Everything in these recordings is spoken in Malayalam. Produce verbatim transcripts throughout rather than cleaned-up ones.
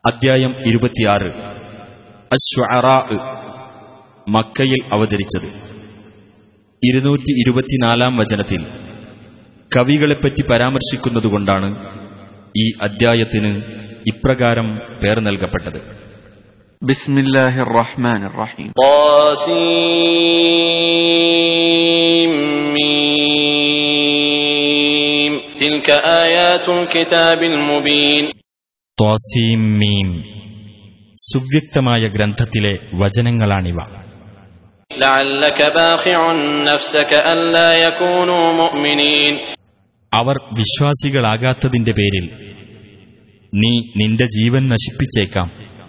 അദ്ധ്യായം ഇരുപത്തിയാറ്. അശ്ശുഅറാ, മക്കയിൽ അവതരിച്ചത്. ഇരുന്നൂറ്റി ഇരുപത്തിനാലാം വചനത്തിൽ കവികളെപ്പറ്റി പരാമർശിക്കുന്നതുകൊണ്ടാണ് ഈ അദ്ധ്യായത്തിന് ഇപ്രകാരം പേർ നൽകപ്പെട്ടത്. ബിസ്മില്ലാഹിർ റഹ്മാനിർ റഹീം. ത്വാസീം മീം തിൽക ആയാതുൽ കിതാബിൽ മുബീൻ. ത്വാസീം മീം, സുവ്യക്തമായ ഗ്രന്ഥത്തിലെ വചനങ്ങളാണിവ. ലഅല്ലക ബാഖിഉൻ നഫ്സക അല്ലാ യകൂനൂ മുഅ്മിനീൻ. അവർ വിശ്വാസികളാകാത്തതിന്റെ പേരിൽ നീ നിന്റെ ജീവൻ നശിപ്പിച്ചേക്കാം.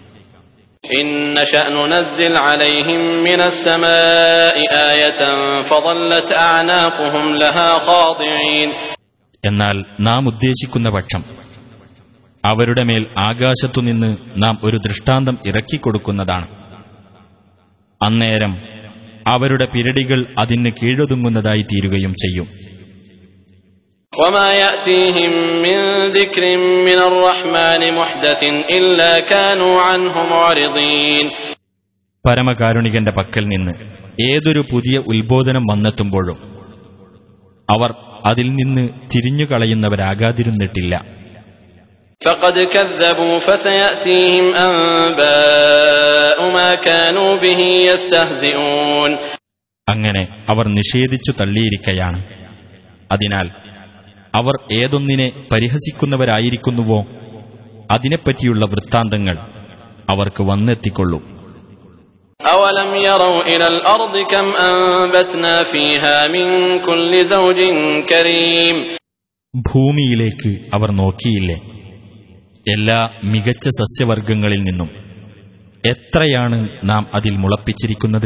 ഇന്ന ശഅനു നസ്സിൽ അലൈഹിം മിനസ് സമാഇ ആയതൻ ഫളല്ലത് അഅനാഖുഹും ലഹാ ഖാദിഈൻ. എന്നാൽ നാം ഉദ്ദേശിക്കുന്ന പക്ഷം അവരുടെ മേൽ ആകാശത്തുനിന്ന് നാം ഒരു ദൃഷ്ടാന്തം ഇറക്കിക്കൊടുക്കുന്നതാണ്. അന്നേരം അവരുടെ പിരടികൾ അതിന് കീഴൊതുങ്ങുന്നതായി തീരുകയും ചെയ്യും. വമാ യഅതീഹിം മിൻ ദിക്രിൻ മിനർ റഹ്മാനി മുഹ്ദസിൻ ഇല്ലാ കാനൂ അൻഹു മുഅ്രിദീൻ. പരമകാരുണികന്റെ പക്കൽ നിന്ന് ഏതൊരു പുതിയ ഉത്ബോധനം വന്നെത്തുമ്പോഴും അവർ അതിൽ നിന്ന് തിരിഞ്ഞുകളയുന്നവരാകാതിരുന്നിട്ടില്ല. ഫഖദ് കദ്ദബൂ ഫസയഅതീഹിം അൻബാഉ മാ കാനൂ ബിഹി യസ്തഹ്സിഊൻ. അങ്ങനെ അവർ നിഷേധിച്ചു തള്ളിയിരിക്കയാണ്. അതിനാൽ അവർ ഏതൊന്നിനെ പരിഹസിക്കുന്നവരായിരിക്കുന്നുവോ അതിനെപ്പറ്റിയുള്ള വൃത്താന്തങ്ങൾ അവർക്ക് വന്നെത്തിക്കൊള്ളും. അവലം യറൗ ഇലൽ അർദി കം അൻബത്നാ ഫീഹാ മിൻ കുല്ലി സൗജിൻ കരീം. ഭൂമിയിലേക്ക് അവർ നോക്കിയില്ലേ? എല്ലാ മികച്ച സസ്യവർഗങ്ങളിൽ നിന്നും എത്രയാണ് നാം അതിൽ മുളപ്പിച്ചിരിക്കുന്നത്.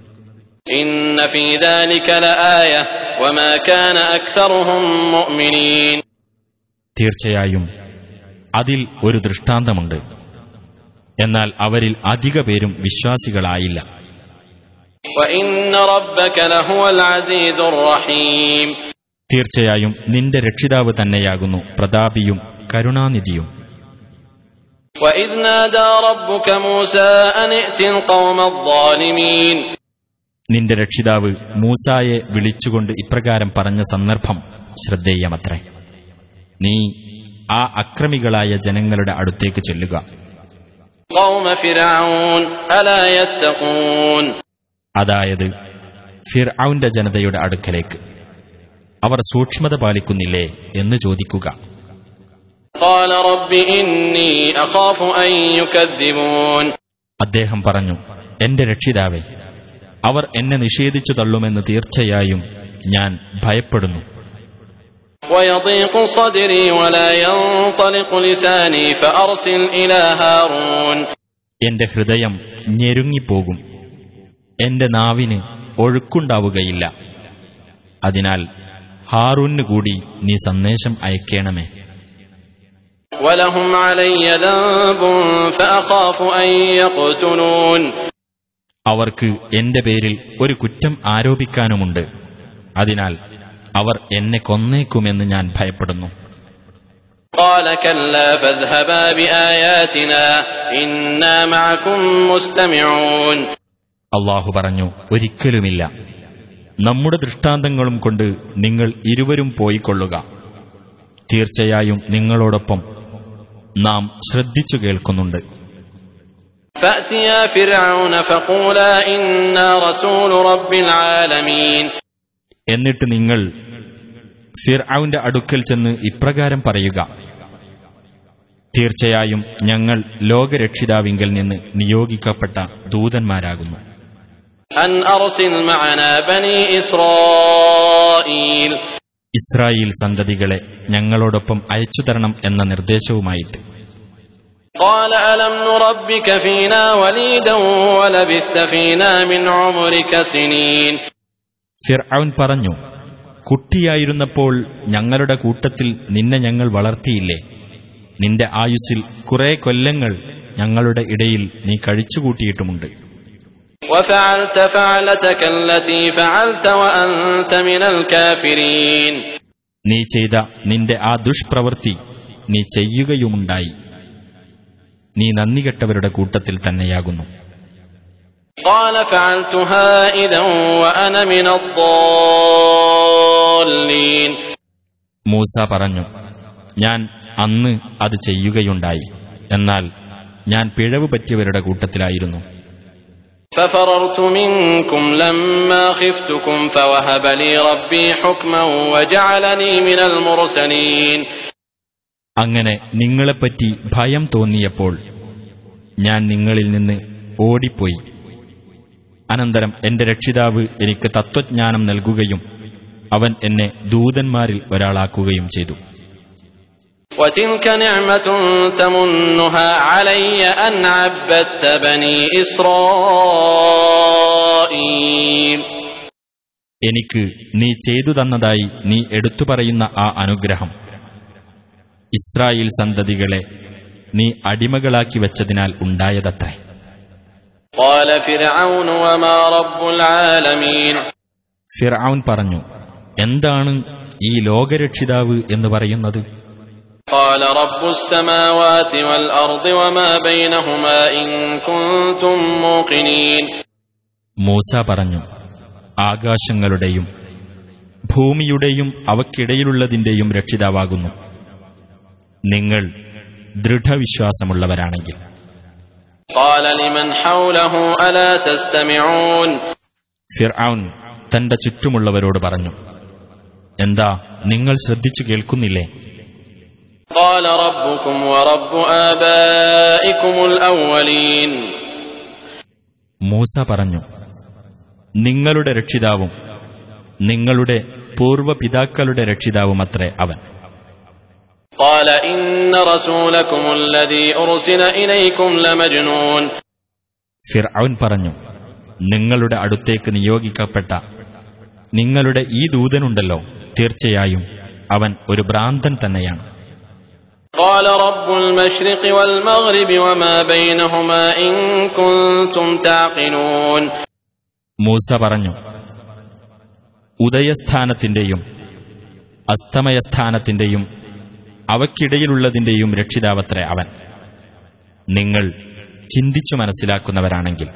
ഇന്ന ഫീ ദാലിക ലആയ വമാ കാന അക്സറുഹും മുഅ്മിനീൻ. തീർച്ചയായും അതിൽ ഒരു ദൃഷ്ടാന്തമുണ്ട്, എന്നാൽ അവരിൽ അധിക പേരും വിശ്വാസികളായില്ല. വഇന്ന റബ്ബക ലഹുവൽ അസീസുർ റഹീം. തീർച്ചയായും നിന്റെ രക്ഷിതാവ് തന്നെയാകുന്നു പ്രതാപിയും കരുണാനിധിയും. وَإِذْ نَادَى رَبُّكَ مُوسَىٰ أَنِ ائْتِ الْقَوْمَ الظَّالِمِينَ. നിന്റെ രക്ഷിതാവ് മൂസായെ വിളിച്ചുകൊണ്ട് ഇപ്രകാരം പറഞ്ഞ സന്ദർഭം ശ്രദ്ധേയമത്രേ. നീ ആ അക്രമികളായ ജനങ്ങളുടെ അടുത്തേക്ക് ചെല്ലുക. قَوْمَ فِرْعَوْنَ أَلَا يَتَّقُونَ. അതായത് ഫിർഔന്റെ ജനതയുടെ അടുക്കലേക്ക്. അവർ സൂക്ഷ്മത പാലിക്കുന്നില്ലേ എന്ന് ചോദിക്കുക. قَالَ رَبِّ إِنِّي أَخَافُ أَن يُكَذِّبُونِ. അദ്ദേഹം പറഞ്ഞു, എന്റെ രക്ഷിതാവേ, അവർ എന്നെ നിഷേധിച്ചു തള്ളുമെന്ന് തീർച്ചയായും ഞാൻ ഭയപ്പെടുന്നു. وَيَضِيقُ صَدْرِي وَلَا يَنطَلِقُ لِسَانِي فَأَرْسِلْ إِلَى هَارُونَ. എന്റെ ഹൃദയം ഞെരുങ്ങിപ്പോകും, എന്റെ നാവിന് ഒഴുക്കുണ്ടാവുകയില്ല. അതിനാൽ ഹാറൂന് കൂടി നീ സന്ദേശം അയക്കേണമേ. وَلَهُمْ عَلَيَّ ذَنبٌ فَأَخَافُ أَن يَقْتُلُونِ. അവർക്ക് എന്റെ പേരിൽ ഒരു കുറ്റം ആരോപിക്കാനുമുണ്ട്. അതിനാൽ അവർ എന്നെ കൊന്നേക്കുമെന്ന് ഞാൻ ഭയപ്പെടുന്നു. قَالَ كَلَّا فَاذْهَبَا بِآيَاتِنَا إِنَّا مَعَكُمْ مُسْتَمِعُونَ. അല്ലാഹു പറഞ്ഞു, ഒരിക്കലുമില്ല. നമ്മുടെ ദൃഷ്ടാന്തങ്ങളും കൊണ്ട് നിങ്ങൾ ഇരുവരും പോയിക്കൊള്ളുക. തീർച്ചയായും നിങ്ങളോടൊപ്പം നാം ശ്രദ്ധിച്ചു കേൾക്കുന്നുണ്ട്. فَأْتِيَا فِرْعَوْنَ فَقُولَا إِنَّا رَسُولُ رَبِّ الْعَالَمِينَ. എന്നിട്ട് നിങ്ങൾ ഫിർഔന്റെ അടുക്കൽ ചെന്ന് ഇപ്രകാരം പറയുക, തീർച്ചയായും ഞങ്ങൾ ലോകരക്ഷിതാവിങ്കൽ നിന്ന് നിയോഗിക്കപ്പെട്ട ദൂതന്മാരാകുന്നു. أَنْ أَرْسِلْ مَعَنَا بَنِي إِسْرَائِيلَ. ഇസ്രായേൽ സന്തതികളെ ഞങ്ങളോടൊപ്പം അയച്ചുതരണം എന്ന നിർദ്ദേശവുമായിട്ട്. قَالَ أَلَمْ نُرَبِّكَ فِينَا وَلِيدًا وَلَبِثْتَ فِينَا مِنْ عُمُرِكَ سِنِينَ. ഫിർഔൻ പറഞ്ഞു, കുട്ടിയായിരുന്നപ്പോൾ ഞങ്ങളുടെ കൂട്ടത്തിൽ നിന്നെ ഞങ്ങൾ വളർത്തിയില്ലേ? നിന്റെ ആയുസ്സിൽ കുറെ കൊല്ലങ്ങൾ ഞങ്ങളുടെ ഇടയിൽ നീ കഴിച്ചുകൂട്ടിയിട്ടുമുണ്ട്. وَفَعَلْتَ فَعْلَتَكَ الَّتِي فَعَلْتَ وَأَنْتَ مِنَ الْكَافِرِينَ. നീ ചെയ്ത നിന്റെ ആ ദുഷ്പ്രവൃത്തി നീ ചെയ്യുകയുമുണ്ടായി. നീ നന്ദികെട്ടവരുടെ കൂട്ടത്തിൽ തന്നെയാകുന്നു. قال فعلتها إذا وأنا من الضالين. മൂസ പറഞ്ഞു, ഞാൻ അന്ന് അത് ചെയ്യുകയുണ്ടായി, എന്നാൽ ഞാൻ പിഴവ് പറ്റിയവരുടെ കൂട്ടത്തിലായിരുന്നു. ففررت منكم لما خفتكم فوهب لي ربي حكما وجعلني من المرسلين. അങ്ങനെ നിങ്ങളെപ്പറ്റി ഭയം തോന്നിയപ്പോൾ ഞാൻ നിങ്ങളിൽ നിന്ന് ഓടിപ്പോയി. അനന്തരം എന്റെ രക്ഷിതാവ് എനിക്ക് തത്വജ്ഞാനം നൽകുകയും അവൻ എന്നെ ദൂതന്മാരിൽ ഒരാളാക്കുകയും ചെയ്തു. وتلك نعمة تمنها علي أن عبدت بني إسرائيل. എനിക്ക് നീ ചെയ്തു തന്നതായി നീ എടുത്തു പറയുന്ന ആ അനുഗ്രഹം ഇസ്രായേൽ സന്തതികളെ നീ അടിമകളാക്കി വെച്ചതിനാൽ ഉണ്ടായതത്രേ. قال فرعون وما رب العالمين. ഫിർഔൻ പറഞ്ഞു, എന്താണ് ഈ ലോകരക്ഷിതാവ് എന്ന് പറയുന്നത്? قال رب السماوات والأرض وما بينهما إن كنتم موقنين. മൂസ പറഞ്ഞു, ആകാശങ്ങളുടെയും ഭൂമിയുടെയും അവക്കിടയിലുള്ളതിന്റെയും രക്ഷിതാവാകുന്നു, നിങ്ങൾ ദൃഢവിശ്വാസമുള്ളവരാണെങ്കിൽ. قال لمن حوله ألا تستمعون. ഫിർഔൻ തന്റെ ചുറ്റുമുള്ളവരോട് പറഞ്ഞു, എന്താ നിങ്ങൾ ശ്രദ്ധിച്ചു കേൾക്കുന്നില്ലേ? قال ربكم ورب آبائكم الأولين. മൂസ പറഞ്ഞു, നിങ്ങളുടെ രക്ഷിതാവും നിങ്ങളുടെ പൂർവ്വപിതാക്കളുടെ രക്ഷിതാവുമത്രേ അവൻ. قال إن رسولكم الذي أرسل إليكم لمجنون. ഫിർഔൻ പറഞ്ഞു, നിങ്ങളുടെ അടുത്തേക്ക് നിയോഗിക്കപ്പെട്ട നിങ്ങളുടെ ഈ ദൂതനുണ്ടല്ലോ, തീർച്ചയായും അവൻ ഒരു ഭ്രാന്തൻ തന്നെയാണ്. قال رب المشرق والمغرب وما بينهما إن كنتم تعقلون. മൂസ പറഞ്ഞു, ഉദയസ്ഥാനത്തിന്റെയും അസ്തമയസ്ഥാനത്തിന്റെയും അവക്കിടയിലുള്ളതിന്റെയും രക്ഷിതാവത്രേ അവൻ, നിങ്ങൾ ചിന്തിച്ചു മനസ്സിലാക്കുന്നവരാണെങ്കിൽ.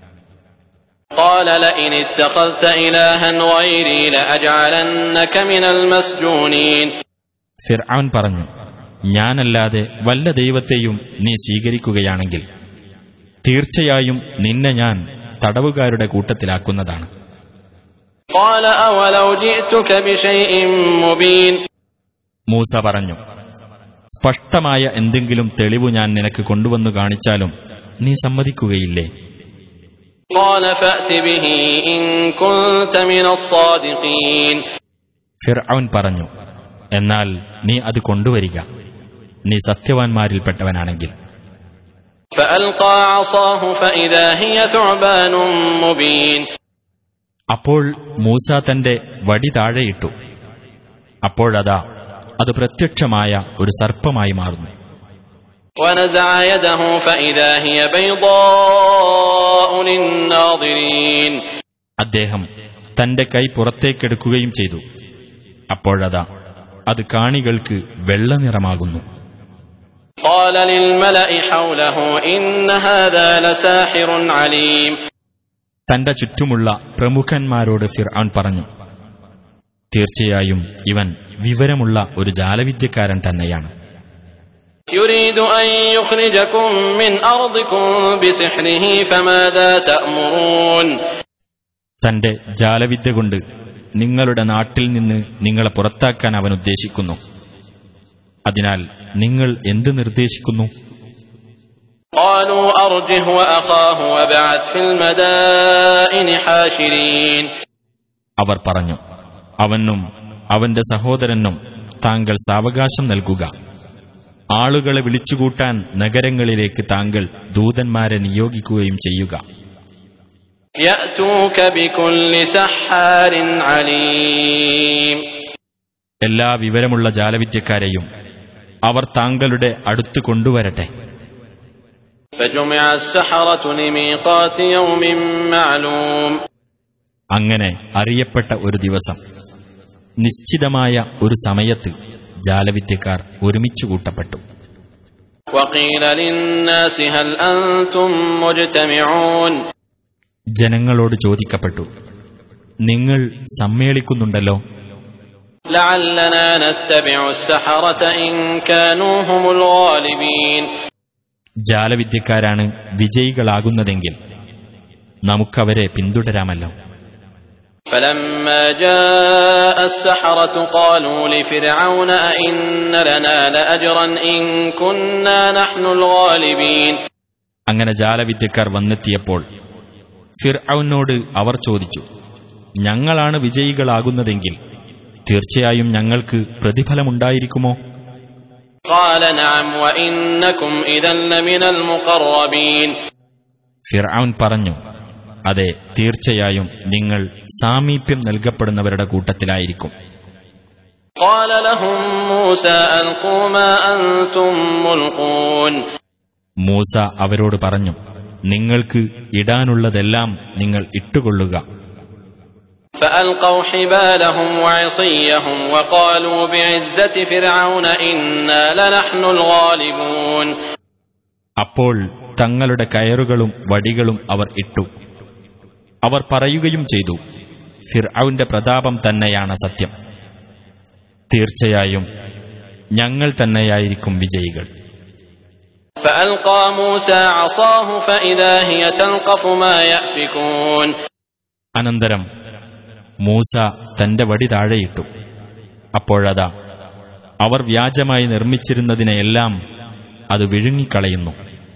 قال لئن اتخذت إلها غيري لأجعلنك من المسجونين. ഫിർഔൻ പറഞ്ഞു, ഞാനല്ലാതെ വല്ല ദൈവത്തെയും നീ സ്വീകരിക്കുകയാണെങ്കിൽ തീർച്ചയായും നിന്നെ ഞാൻ തടവുകാരുടെ കൂട്ടത്തിലാക്കുന്നതാണ്. قال أولو جئتك بشيء مبين. മൂസ പറഞ്ഞു, സ്പഷ്ടമായ എന്തെങ്കിലും തെളിവ് ഞാൻ നിനക്ക് കൊണ്ടുവന്നു കാണിച്ചാലും നീ സമ്മതിക്കുകയില്ലേ? قال فأت به إن كنت من الصادقين. ഫിർഔൻ പറഞ്ഞു, എന്നാൽ നീ അത് കൊണ്ടുവരിക, നീ സത്യവാൻമാരിൽപ്പെട്ടവനാണെങ്കിൽ. فألقى عصاه فإذا هي ثعبان مبين. അപ്പോൾ മൂസ തന്റെ വടി താഴെയിട്ടു, അപ്പോഴതാ അത് പ്രത്യക്ഷമായ ഒരു സർപ്പമായി മാറുന്നു. ونزع يده فإذا هي بيضاء للناظرين. അദ്ദേഹം തന്റെ കൈ പുറത്തേക്കെടുക്കുകയും ചെയ്തു, അപ്പോഴതാ അത് കാണികൾക്ക് വെള്ളനിറമാകുന്നു. قال للملأ حوله إن هذا لساحر عليم. തന്റെ ചുറ്റുമുള്ള പ്രമുഖന്മാരോട് ഫിർഔൻ പറഞ്ഞു, തീർച്ചയായും ഇവൻ വിവരമുള്ള ഒരു ജാലവിദ്യക്കാരൻ തന്നെയാണ്. يريد أن يخرجكم من أرضكم بسحره فماذا تأمرون. തന്റെ ജാലവിദ്യ കൊണ്ട് നിങ്ങളുടെ നാട്ടിൽ നിന്ന് നിങ്ങളെ പുറത്താക്കാൻ അവൻ ഉദ്ദേശിക്കുന്നു. അതിനാൽ നിങ്ങൾ എന്ത് നിർദ്ദേശിക്കുന്നു? قالوا أرجه وأخاه وابعث في المدائن حاشرين. അവർ പറഞ്ഞു, അവനും അവന്റെ സഹോദരനും താങ്കൾ സാവകാശം നൽകുക, ആളുകളെ വിളിച്ചുകൂട്ടാൻ നഗരങ്ങളിലേക്ക് താങ്കൾ ദൂതന്മാരെ നിയോഗിക്കുകയും ചെയ്യുക. يأتوك بكل سحار عليم. എല്ലാ വിവരമുള്ള ജാലവിദ്യക്കാരെയും അവർ താങ്കളുടെ അടുത്ത് കൊണ്ടുവരട്ടെ. فجمع السحرة لميقات يوم معلوم. അങ്ങനെ അറിയപ്പെട്ട ഒരു ദിവസം, നിശ്ചിതമായ ഒരു സമയത്ത് ജാലവിദ്യക്കാർ ഒരുമിച്ചു കൂട്ടപ്പെട്ടു. وقيل للناس هل أنتم مجتمعون ജനങ്ങളോട് ചോദിക്കപ്പെട്ടു, നിങ്ങൾ സമ്മേളിക്കുന്നുണ്ടല്ലോ? لعلنا نتبع السحرة إن كانوا هم الغالبين ജാലവിദ്യക്കാരാണ് വിജയികളാകുന്നതെങ്കിൽ നമുക്കവരെ പിന്തുടരാമല്ലോ. فلما جاء السحرة قالوا لفرعون أئن لنا لأجرا إن كنا نحن الغالبين അങ്ങനെ ജാലവിദ്യക്കാർ വന്നെത്തിയപ്പോൾ ഫിർഔനോട് അവർ ചോദിച്ചു, ഞങ്ങളാണ് വിജയികളാകുന്നതെങ്കിൽ തീർച്ചയായും ഞങ്ങൾക്ക് പ്രതിഫലമുണ്ടായിരിക്കുമോ? قال نعم وإنكم إذا لمن المقربين ഫിർഔൻ പറഞ്ഞു, അതെ, തീർച്ചയായും നിങ്ങൾ സാമീപ്യം നൽകപ്പെടുന്നവരുടെ കൂട്ടത്തിലായിരിക്കും. قال لهم موسى ألقوا ما أنتم ملقون മൂസ അവരോട് പറഞ്ഞു, നിങ്ങൾക്ക് ഇടാനുള്ളതെല്ലാം നിങ്ങൾ ഇട്ടുകൊള്ളുക. فألقوا حبالهم وعصيهم وقالوا بعزة فرعون إنا لنحن الغالبون അപ്പോൾ തങ്ങളുടെ കയറുകളും വടികളും അവർ ഇട്ടു. അവർ പറയുകയും ചെയ്തു, ഫിർഔന്റെ പ്രതാപം തന്നെയാണ് സത്യം. തീർച്ചയായും ഞങ്ങൾ തന്നെയായിരിക്കും വിജയികൾ. فألقى موسى عصاه فإذا هي تلقف ما يأفكون അനന്തരം മൂസ തന്റെ വടി താഴെയിട്ടു. അപ്പോഴതാ അവർ വ്യാജമായി നിർമ്മിച്ചിരുന്നതിനെയെല്ലാം അത് വിഴുങ്ങിക്കളയുന്നു.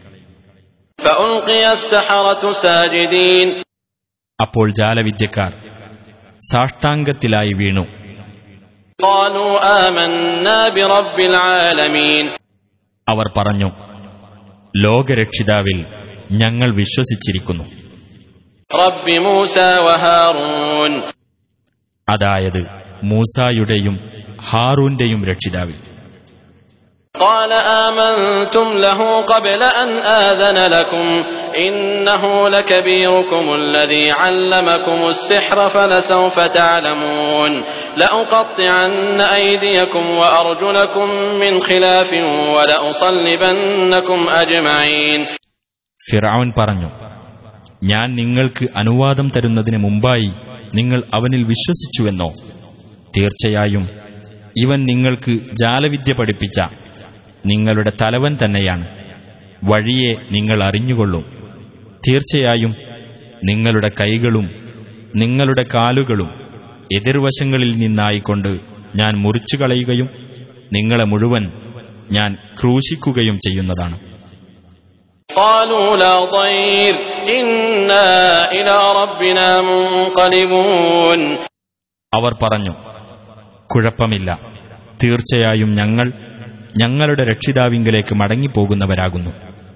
فألقي السحرة ساجدين അപ്പോൾ ജാലവിദ്യക്കാർ സാഷ്ടാംഗത്തിലായി വീണു. قالوا آمنا برب العالمين അവർ പറഞ്ഞു, ലോകരക്ഷിതാവിൽ ഞങ്ങൾ വിശ്വസിച്ചിരിക്കുന്നു. رب موسى وهارون അതായത് മൂസായുടെയും ഹാറൂന്റെയും രക്ഷിതാവിൽ. قال آمنتم له قبل أن آذن لكم إنه لكبيركم الذي علمكم السحر فلسوف تعلمون لأقطعن أيديكم وأرجلكم من خلاف ولأصلبنكم أجمعين ഫിർഔൻ പറഞ്ഞു, ഞാൻ നിങ്ങൾക്ക് അനുവാദം തരുന്നതിന് മുമ്പായി നിങ്ങൾ അവനിൽ വിശ്വസിച്ചുവെന്നോ? തീർച്ചയായും ഇവൻ നിങ്ങൾക്ക് ജാലവിദ്യ പഠിപ്പിച്ച നിങ്ങളുടെ തലവൻ തന്നെയാണ്. വഴിയെ നിങ്ങൾ അറിഞ്ഞുകൊള്ളും. തീർച്ചയായും നിങ്ങളുടെ കൈകളും നിങ്ങളുടെ കാലുകളും എതിർവശങ്ങളിൽ നിന്നായിക്കൊണ്ട് ഞാൻ മുറിച്ചുകളയുകയും നിങ്ങളെ മുഴുവൻ ഞാൻ ക്രൂശിക്കുകയും ചെയ്യുന്നതാണ്. قالوا لا ضير إنا إلى ربنا منقلبون അവർ പറഞ്ഞു, കുഴപ്പമില്ല, തീർച്ചയായും ഞങ്ങൾ ഞങ്ങളുടെ രക്ഷിതാവിങ്കലേക്ക് മടങ്ങിപ്പോകുന്നവരാകുന്നു.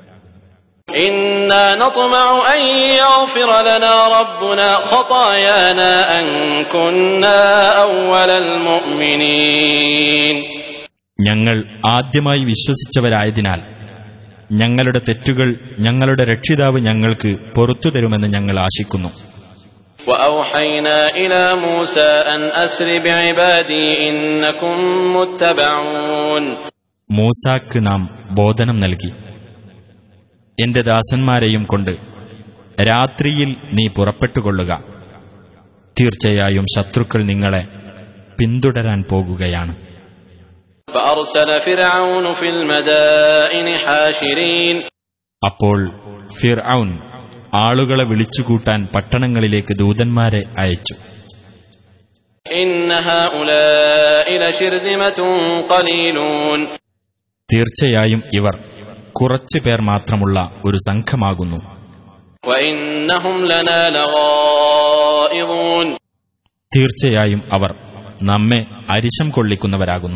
إنا نطمع أن يغفر لنا ربنا خطايانا أن كنا أول المؤمنين ഞങ്ങൾ ആദ്യമായി വിശ്വസിച്ചവരായതിനാൽ ഞങ്ങളുടെ തെറ്റുകൾ ഞങ്ങളുടെ രക്ഷിതാവ് ഞങ്ങൾക്ക് പൊറുത്തു തരുമെന്ന് ഞങ്ങൾ ആശിക്കുന്നു. وأوحينا إلى موسى أن أسر بعبادي إنكم متبعون മൂസാക്ക് നാം ബോധനം നൽകി, എന്റെ ദാസന്മാരെയും കൊണ്ട് രാത്രിയിൽ നീ പുറപ്പെട്ടുകൊള്ളുക. തീർച്ചയായും ശത്രുക്കൾ നിങ്ങളെ പിന്തുടരാൻ പോകുകയാണ്. فأرسل فرعون في المدائن حاشرين അപ്പോൾ ഫിർഔൻ ആളുകളെ വിളിച്ചുകൂട്ടാൻ പട്ടണങ്ങളിലേക്ക് ദൂതന്മാരെ അയച്ചു. إن هؤلاء لشرذمة قليلون തീർച്ചയായും ഇവർ കുറച്ചു പേർ മാത്രമുള്ള ഒരു സംഘമാകുന്നു. وإنهم لنا لغائظون തീർച്ചയായും അവർ നമ്മെ അരിശം കൊള്ളിക്കുന്നവരാകുന്നു.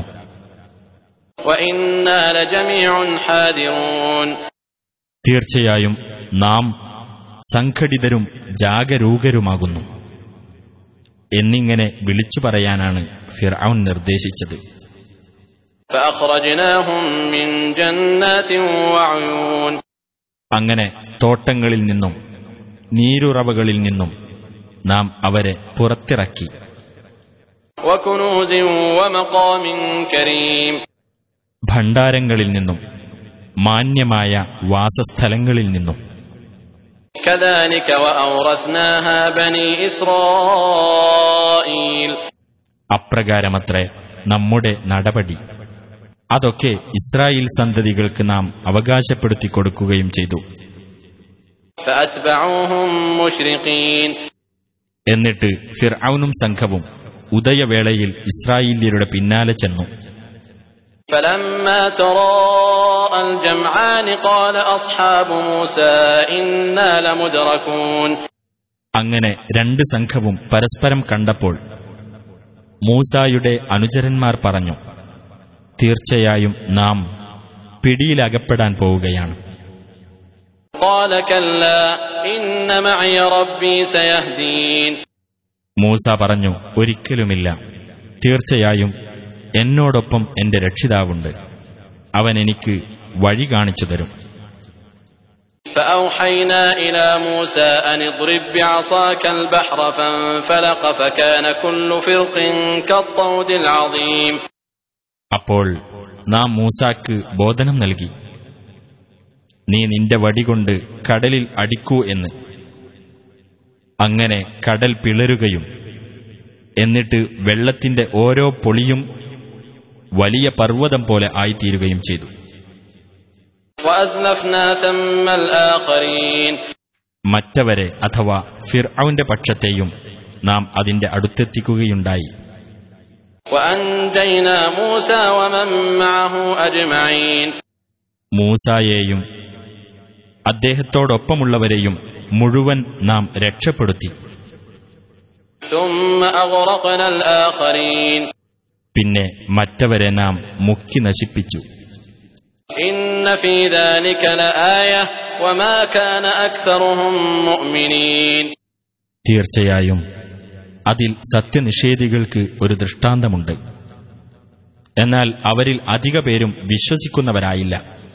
وإنا لجميع حاذرون തീർച്ചയായും നാം സംഘടിതരും ജാഗരൂകരുമാകുന്നു എന്നിങ്ങനെ വിളിച്ചു പറയാനാണ് ഫിർഔൻ നിർദ്ദേശിച്ചത്. فأخرجناهم من جنات وعيون അങ്ങനെ തോട്ടങ്ങളിൽ നിന്നും നീരുറവകളിൽ നിന്നും നാം അവരെ പുറത്തിറക്കി. وكنوز ومقام كريم ഭണ്ഡാരങ്ങളിൽ നിന്നും മാന്യമായ വാസസ്ഥലങ്ങളിൽ നിന്നും. كذلك وأورثناها بني إسرائيل. അപ്രകാരമത്രേ നമ്മുടെ നടപടി. അതൊക്കെ ഇസ്രായേൽ സന്തതികൾക്ക് നാം അവകാശപ്പെടുത്തി കൊടുക്കുകയും ചെയ്തു. فأتبعوهم مشرقين. എന്നിട്ട് ഫിർഔനും സംഘവും ഉദയവേളയിൽ ഇസ്രായേല്യരുടെ പിന്നാലെ ചെന്നു. فلما تراءى الجمعان قال أصحاب موسى إنا لمدركون. അങ്ങനെ രണ്ട് സംഘവും പരസ്പരം കണ്ടപ്പോൾ മൂസായുടെ അനുചരന്മാർ പറഞ്ഞു, തീർച്ചയായും നാം പിടിയിലകപ്പെടാൻ പോവുകയാണ്. قال كلا إن معي ربي سيهدين. മൂസ പറഞ്ഞു, ഒരിക്കലുമില്ല, തീർച്ചയായും എന്നോടൊപ്പം എന്റെ രക്ഷിതാവുണ്ട്, അവൻ എനിക്ക് വഴി കാണിച്ചു തരും. فأوحينا إلى موسى أن اضرب بعصاك البحر فانفلق فكان كل فرق كالطود العظيم. അപ്പോൾ നാം മൂസാക്ക് ബോധനം നൽകി, നീ നിന്റെ വടികൊണ്ട് കടലിൽ അടിക്കൂ എന്ന്. അങ്ങനെ കടൽ പിളരുകയും എന്നിട്ട് വെള്ളത്തിന്റെ ഓരോ പൊളിയും വലിയ പർവ്വതം പോലെ ആയിത്തീരുകയും ചെയ്തു. മറ്റവരെ അഥവാ ഫിർഔന്റെ പക്ഷത്തെയും നാം അതിന്റെ അടുത്തെത്തിക്കുകയുണ്ടായി. മൂസായെയും അദ്ദേഹത്തോടൊപ്പമുള്ളവരെയും മുഴുവൻ നാം രക്ഷപ്പെടുത്തി. പിന്നെ മറ്റവരെ നാം മുക്കി നശിപ്പിച്ചു. ഇന്ന ഫീ ദാലിക ലആയ വമാ കാന അക്സറുഹും മുഅ്മിനീൻ. തീർച്ചയായും അതിൽ സത്യനിഷേധികൾക്ക് ഒരു ദൃഷ്ടാന്തമുണ്ട്, എന്നാൽ അവരിൽ അധിക പേരും വിശ്വസിക്കുന്നവരായില്ല.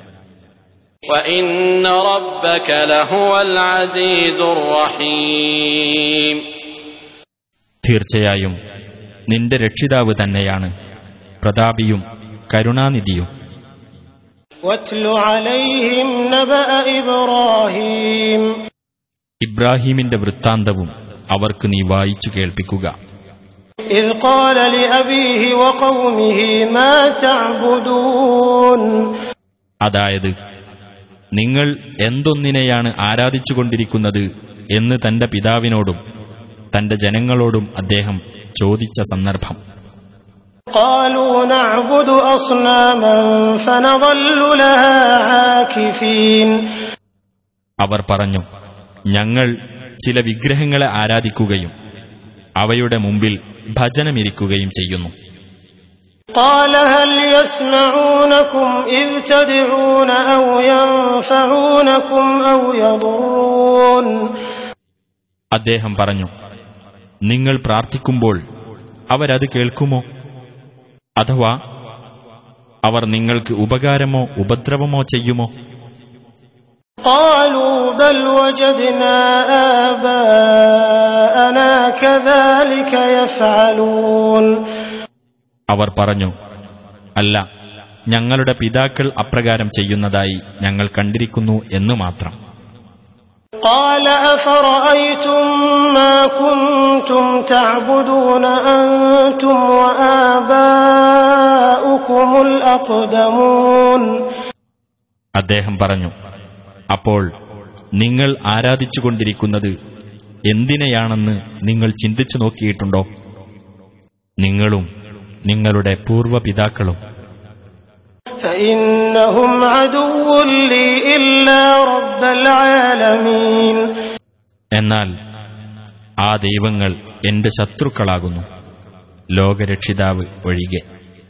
വഇന്ന റബ്ബക ലഹുവൽ അസീസുർ റഹീം. തീർച്ചയായും നിന്റെ രക്ഷിതാവ് തന്നെയാണ് പ്രതാപിയും കരുണാനിധിയും. വത്ലു അലൈഹിം നബഅ ഇബ്രാഹീം. ഇബ്രാഹീമിന്റെ വൃത്താന്തവും അവർക്ക് നീ വായിച്ചു കേൾപ്പിക്കുക. ഇദ് ഖാല ലിഅബീഹി വഖൗമിഹി മാ തഅബുദൂൻ. അതായത്, നിങ്ങൾ എന്തൊന്നിനെയാണ് ആരാധിച്ചുകൊണ്ടിരിക്കുന്നത് എന്ന് തന്റെ പിതാവിനോടും തന്റെ ജനങ്ങളോടും അദ്ദേഹം ചോദിച്ച സന്ദർഭം. ഖാലൂ നഅ്ബുദു അസ്നാമൻ ഫനദല്ലു ലഹാ ആകിഫീൻ. അവർ പറഞ്ഞു, ഞങ്ങൾ ചില വിഗ്രഹങ്ങളെ ആരാധിക്കുകയും അവയുടെ മുമ്പിൽ ഭജനമിരിക്കുകയും ചെയ്യുന്നു. ഖാല ഹൽ യസ്മഊനകും ഇദ് തദ്ഊന ഔ യൻഫഊനകും ഔ യദുറൂൻ. അദ്ദേഹം പറഞ്ഞു, നിങ്ങൾ പ്രാർത്ഥിക്കുമ്പോൾ അവരത് കേൾക്കുമോ? അഥവാ അവർ നിങ്ങൾക്ക് ഉപകാരമോ ഉപദ്രവമോ ചെയ്യുമോ? ഖാലൂ ബൽ വജദ്നാ ആബാഅനാ കദാലിക യഫ്അലൂൻ. അവർ പറഞ്ഞു, അല്ല, ഞങ്ങളുടെ പിതാക്കൾ അപ്രകാരം ചെയ്യുന്നതായി ഞങ്ങൾ കണ്ടിരിക്കുന്നു എന്നു മാത്രം. قال أفرأيتم ما كنتم تعبدون أنتم وآباؤكم الأقدمون. അദ്ദേഹം പറഞ്ഞു, അപ്പോൾ നിങ്ങൾ ആരാധിച്ചുകൊണ്ടിരിക്കുന്നത് എന്തിനെയാണെന്ന് നിങ്ങൾ ചിന്തിച്ചു നോക്കിയിട്ടുണ്ടോ? നിങ്ങളും നിങ്ങളുടെ പൂർവ്വപിതാക്കളും. فإنهم عدو لي إلا رب العالمين. എന്നാൽ ആ ദൈവങ്ങൾ എന്റെ ശത്രുക്കളാകുന്നു, ലോകരക്ഷിതാവ് ഒഴികെ.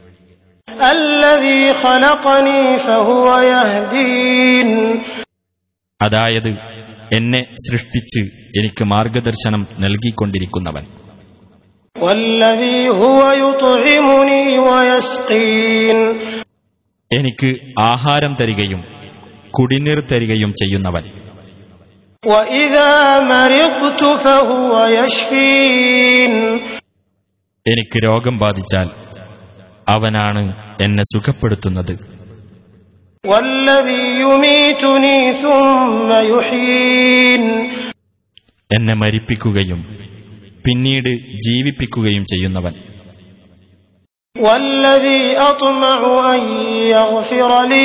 الذي خلقني فهو يهدين. അതായത്, എന്നെ സൃഷ്ടിച്ച് എനിക്ക് മാർഗദർശനം നൽകിക്കൊണ്ടിരിക്കുന്നവൻ. والذي هو يطعمني ويسقين. എനിക്ക് ആഹാരം തരികയും കുടിനീർ തരികയും ചെയ്യുന്നവൻ. وإذا مرضت فهو يشفين. എനിക്ക് രോഗം ബാധിച്ചാൽ അവനാണ് എന്നെ സുഖപ്പെടുത്തുന്നത്. والذي يميتني ثم يحيين എന്നെ മരിപ്പിക്കുകയും പിന്നീട് ജീവിപ്പിക്കുകയും ചെയ്യുന്നവൻ. والذي أطمع أن يغفر لي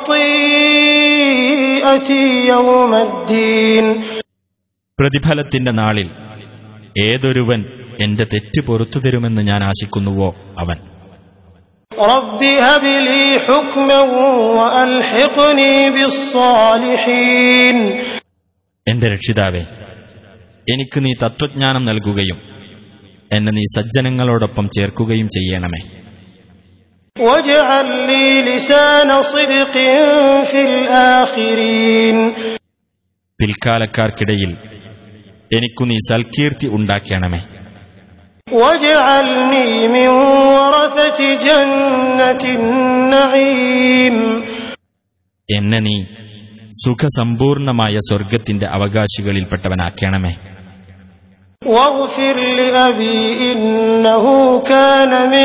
خطيئتي يوم الدين പ്രതിഫലത്തിന്റെ നാളിൽ ഏതൊരുവൻ എന്റെ തെറ്റ് പൊറുത്തു തരുമെന്ന് ഞാൻ ആശിക്കുന്നുവോ അവൻ. رب هب لي حكما وألحقني بالصالحين എന്റെ രക്ഷിതാവേ, എനിക്ക് നീ തത്വജ്ഞാനം നൽകുകയും എന്നെ നീ സജ്ജനങ്ങളോടൊപ്പം ചേർക്കുകയും ചെയ്യണമേ. واجعل لي لسان صدق في الآخرين പിൽക്കാലക്കാർക്കിടയിൽ എനിക്കു നീ സൽകീർത്തി ഉണ്ടാക്കണമേ. واجعلني من ورثة جنة النعيم എന്നെ നീ സുഖസമ്പൂർണമായ സ്വർഗത്തിന്റെ അവകാശികളിൽപ്പെട്ടവനാക്കണമേ. واغفر لأبي إنه كان من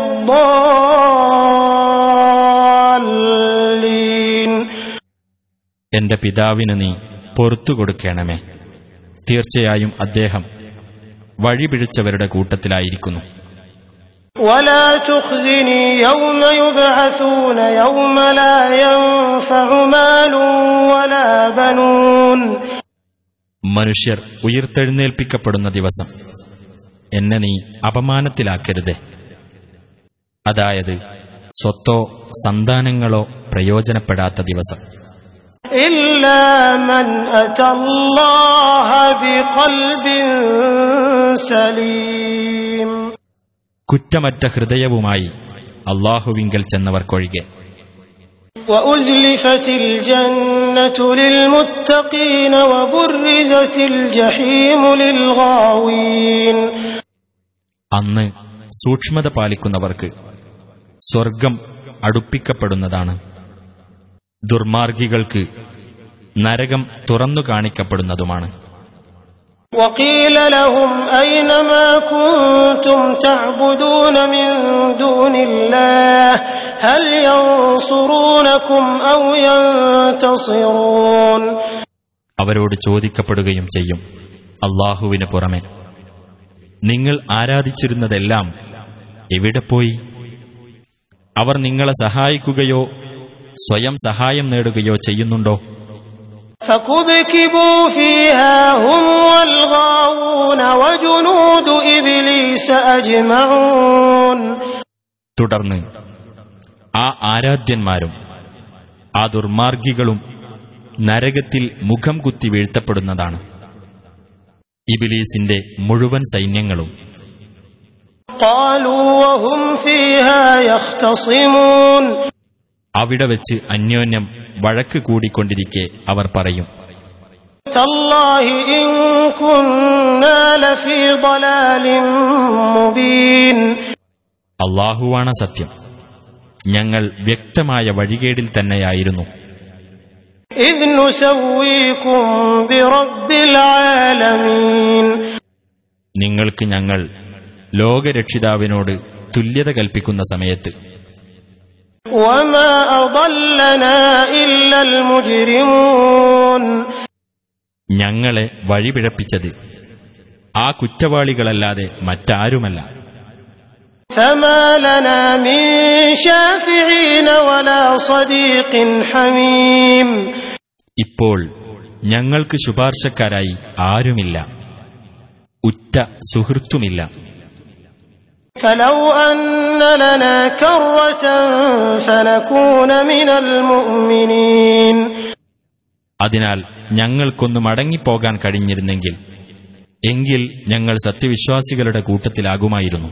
الضالين എന്റെ പിതാവിന് നീ പൊറത്തു കൊടുക്കണമേ. തീർച്ചയായും അദ്ദേഹം വഴിപിഴച്ചവരുടെ കൂട്ടത്തിലായിരിക്കുന്നു. ولا تخزني يوم يبعثون يوم لا ينفع مال ولا بنون മനുഷ്യർ ഉയർത്തെഴുന്നേൽപ്പിക്കപ്പെടുന്ന ദിവസം എന്നെ നീ അപമാനത്തിലാക്കരുതേ. അതായത് സ്വത്തോ സന്താനങ്ങളോ പ്രയോജനപ്പെടാത്ത ദിവസം. إلا من أتى الله بقلب سليم കുറ്റമറ്റ ഹൃദയവുമായി അല്ലാഹുവിങ്കൽ ചെന്നവർക്കൊഴികെ. وأزلفت الجنة للمتقين وبرزت الجحيم للغاوين അന്ന് സൂക്ഷ്മത പാലിക്കുന്നവർക്ക് സ്വർഗം അടുപ്പിക്കപ്പെടുന്നതാണ്. ദുർമാർഗികൾക്ക് നരകം തുറന്നു കാണിക്കപ്പെടുന്നതുമാണ്. وقيل لهم أين ما كنتم تعبدون من دون الله هل ينصرونكم أو ينتصرون അവരോട് ചോദിക്കപ്പെടുകയും ചെയ്യും, അല്ലാഹുവിന് പുറമെ നിങ്ങൾ ആരാധിച്ചിരുന്നതെല്ലാം എവിടെ പോയി? അവർ നിങ്ങളെ സഹായിക്കുകയോ സ്വയം സഹായം നേടുകയോ ചെയ്യുന്നുണ്ടോ? فكبكبوا فيها هم والغاوون وجنود إبليس أجمعون തുടർന്ന് ആ ആരാധ്യന്മാരും ആ ദുർമാർഗികളും നരകത്തിൽ മുഖം കുത്തി വീഴ്ത്തപ്പെടുന്നതാണ്. ഇബ്ലീസിന്റെ മുഴുവൻ സൈന്യങ്ങളും. قالوا وهم فيها يختصمون അവിടെ വെച്ച് അന്യോന്യം വഴക്ക് കൂടിക്കൊണ്ടിരിക്കെ അവർ പറയും, تالله إن كنا لفي ضلال مبين അല്ലാഹുവാണ് സത്യം, ഞങ്ങൾ വ്യക്തമായ വഴികേടിൽ തന്നെയായിരുന്നു. إذ نسويكم برب العالمين നിങ്ങൾക്ക് ഞങ്ങൾ ലോകരക്ഷിതാവിനോട് തുല്യത കൽപ്പിക്കുന്ന സമയത്ത്. وما أضلنا إلا المجرمون ഞങ്ങളെ വഴിപിഴപ്പിച്ചത് ആ കുറ്റവാളികളല്ലാതെ മറ്റാരുമല്ല. فما لنا من شافعين ولا صديق حميم ഇപ്പോൾ ഞങ്ങൾക്ക് ശുപാർശക്കാരായി ആരുമില്ല, ഉറ്റ സുഹൃത്തുമില്ല. فلو أن لنا كرة فنكون من المؤمنين അതിനാൽ ഞങ്ങൾക്കൊന്ന് മടങ്ങിപ്പോകാൻ കഴിഞ്ഞിരുന്നെങ്കിൽ എങ്കിൽ ഞങ്ങൾ സത്യവിശ്വാസികളുടെ കൂട്ടത്തിലാകുമായിരുന്നു.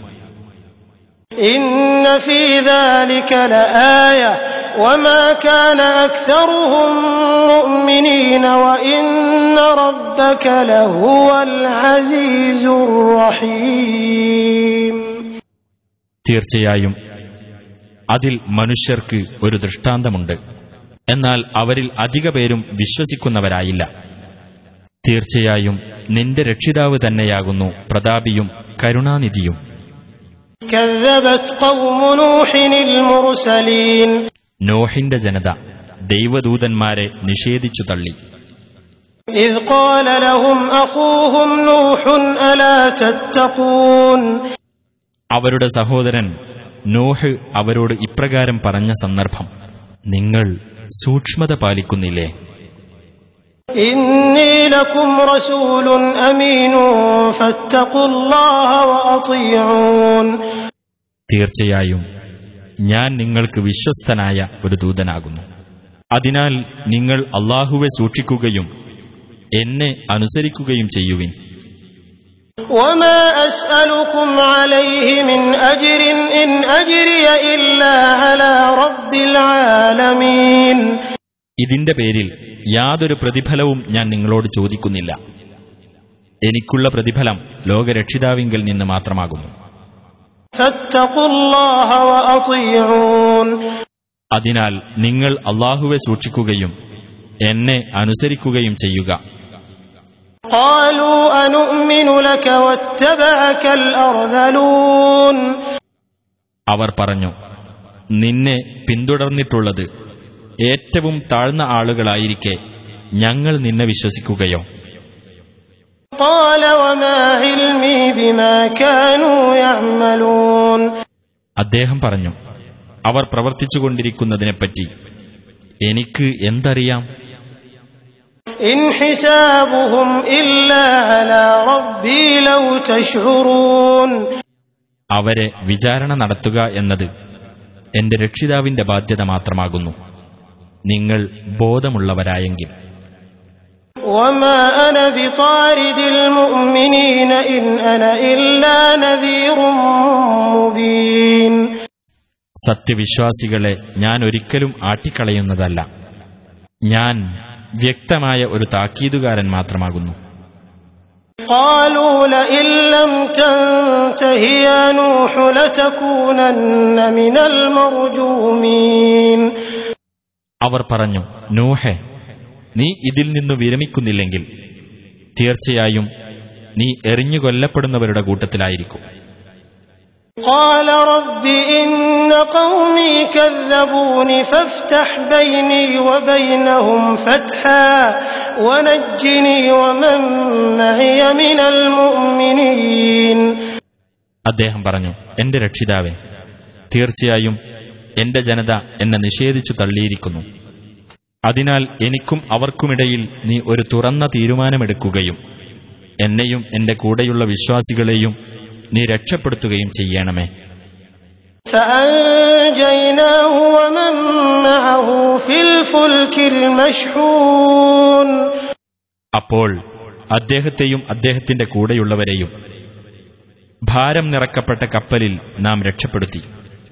إن في ذلك لآية وما كان أكثرهم مؤمنين وإن ربك لهو العزيز الرحيم തീർച്ചയായും അതിൽ മനുഷ്യർക്ക് ഒരു ദൃഷ്ടാന്തമുണ്ട്, എന്നാൽ അവരിൽ അധിക പേരും വിശ്വസിക്കുന്നവരായില്ല. തീർച്ചയായും നിന്റെ രക്ഷിതാവ് തന്നെയാകുന്നു പ്രതാപിയും കരുണാനിധിയും. كذبت قوم نوح المرسلين നോഹിന്റെ ജനത ദൈവദൂതന്മാരെ നിഷേധിച്ചു തള്ളി. إذ قال لهم أخوهم نوح ألا تتقون അവരുടെ സഹോദരൻ നോഹ് അവരോട് ഇപ്രകാരം പറഞ്ഞ സന്ദർഭം, നിങ്ങൾ സൂക്ഷ്മത പാലിക്കുന്നില്ലേ? إني لكم رسول أمين فاتقوا الله وأطيعون തീർച്ചയായും ഞാൻ നിങ്ങൾക്ക് വിശ്വസ്തനായ ഒരു ദൂതനാകുന്നു. അതിനാൽ നിങ്ങൾ അല്ലാഹുവെ സൂക്ഷിക്കുകയും എന്നെ അനുസരിക്കുകയും ചെയ്യുവിൻ. وما أسألكم عليه من أجر إن أجري إلا على رب العالمين ഇതിന്റെ പേരിൽ യാതൊരു പ്രതിഫലവും ഞാൻ നിങ്ങളോട് ചോദിക്കുന്നില്ല. എനിക്കുള്ള പ്രതിഫലം ലോകരക്ഷിതാവിങ്കൽ നിന്ന് മാത്രമാകുന്നു. فاتقوا الله وأطيعون അതിനാൽ നിങ്ങൾ അല്ലാഹുവെ സൂക്ഷിക്കുകയും എന്നെ അനുസരിക്കുകയും ചെയ്യുക. قالوا أنؤمن لك واتبعك الأرذلون അവർ പറഞ്ഞു, നിന്നെ പിന്തുടർന്നിട്ടുള്ളത് ഏറ്റവും താഴ്ന്ന ആളുകളായിരിക്കെ ഞങ്ങൾ നിന്നെ വിശ്വസിക്കുകയോ? قال وما علمي بما كانوا يعملون അദ്ദേഹം പറഞ്ഞു, അവർ പ്രവർത്തിച്ചുകൊണ്ടിരിക്കുന്നതിനെപ്പറ്റി എനിക്ക് എന്തറിയാം? إن حسابهم إلا على ربي لو تشعرون അവരെ വിചാരണ നടത്തുക എന്നത് എന്റെ രക്ഷിതാവിന്റെ ബാധ്യത മാത്രമാകുന്നു, നിങ്ങൾ ബോധമുള്ളവരായെങ്കിൽ. وما أنا بطارد المؤمنين إن أنا إلا نذير مبين സത്യവിശ്വാസികളെ ഞാൻ ഒരിക്കലും ആട്ടിക്കളയുന്നതല്ല, ഞാൻ വ്യക്തമായ ഒരു താക്കീതുകാരൻ മാത്രമാകുന്നു. قالوا لئن لم تنته يا نوح لتكونن من المرجومين അവർ പറഞ്ഞു, നൂഹേ, നീ ഇതിൽ നിന്നു വിരമിക്കുന്നില്ലെങ്കിൽ തീർച്ചയായും നീ എറിഞ്ഞു കൊല്ലപ്പെടുന്നവരുടെ കൂട്ടത്തിലായിരിക്കും. قال رب إن قومي كذبون فافتح بيني وبينهم فتحا ونجني ومن معي من المؤمنين അദ്ദേഹം പറഞ്ഞു, എന്റെ രക്ഷിതാവേ, തീർച്ചയായും എന്റെ ജനത എന്നെ നിഷേധിച്ചു തള്ളിയിരിക്കുന്നു. അതിനാൽ എനിക്കും അവർക്കുമിടയിൽ നീ ഒരു തുറന്ന തീരുമാനമെടുക്കുകയും എന്നെയും എന്റെ കൂടെയുള്ള വിശ്വാസികളെയും നീ രക്ഷപ്പെടുത്തുകയും ചെയ്യണമേ. فأنجيناه ومن معه في الفلك المشحون അപ്പോൾ അദ്ദേഹത്തെയും അദ്ദേഹത്തിന്റെ കൂടെയുള്ളവരെയും ഭാരം നിറക്കപ്പെട്ട കപ്പലിൽ നാം രക്ഷപ്പെടുത്തി.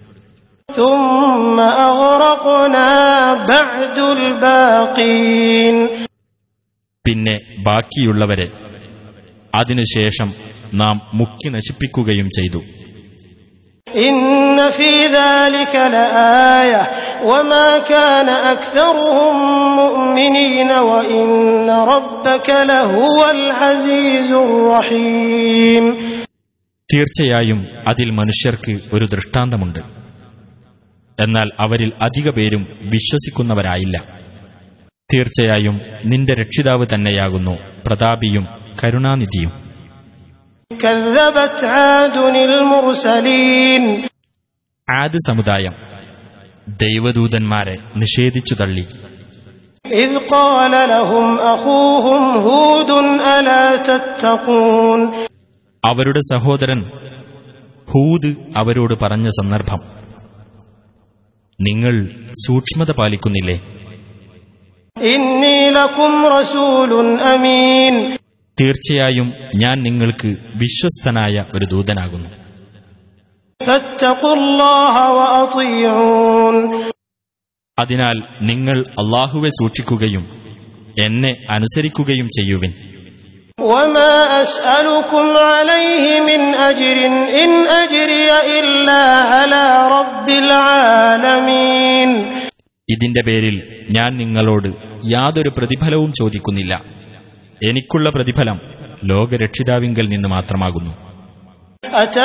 ثم أغرقنا بعد الباقين പിന്നെ ബാക്കിയുള്ളവരെ അതിനുശേഷം നാം മുക്കി നശിപ്പിക്കുകയും ചെയ്തു. إن في ذلك لآية وما كان أكثرهم مؤمنين وإن ربك لهو العزيز الرحيم തീർച്ചയായും അതിൽ മനുഷ്യർക്ക് ഒരു ദൃഷ്ടാന്തമുണ്ട്. എന്നാൽ അവരിൽ അധിക പേരും വിശ്വസിക്കുന്നവരായില്ല. തീർച്ചയായും നിന്റെ രക്ഷിതാവ് തന്നെയാകുന്നു പ്രതാപിയും കരുണാനിധിയും. كذبت عاد المرسلين ആദ് സമുദായം ദൈവദൂതന്മാരെ നിഷേധിച്ചു തള്ളി. إذ قال لهم أخوهم هود ألا تتقون അവരുടെ സഹോദരൻ ഹൂദ് അവരോട് പറഞ്ഞ സന്ദർഭം, നിങ്ങൾ സൂക്ഷ്മത പാലിക്കുന്നില്ലേ? إني لكم رسول أمين തീർച്ചയായും ഞാൻ നിങ്ങൾക്ക് വിശ്വസ്തനായ ഒരു ദൂതനാകുന്നു. فاتقوا الله وأطيعون അതിനാൽ നിങ്ങൾ അല്ലാഹുവെ സൂക്ഷിക്കുകയും എന്നെ അനുസരിക്കുകയും ചെയ്യുവിൻ. وما أسألكم عليه من أجر إن أجري إلا على رب العالمين ഇതിന്റെ പേരിൽ ഞാൻ നിങ്ങളോട് യാതൊരു പ്രതിഫലവും ചോദിക്കുന്നില്ല. എനിക്കുള്ള പ്രതിഫലം ലോകരക്ഷിതാവിങ്കൽ നിന്ന് മാത്രമാകുന്നു.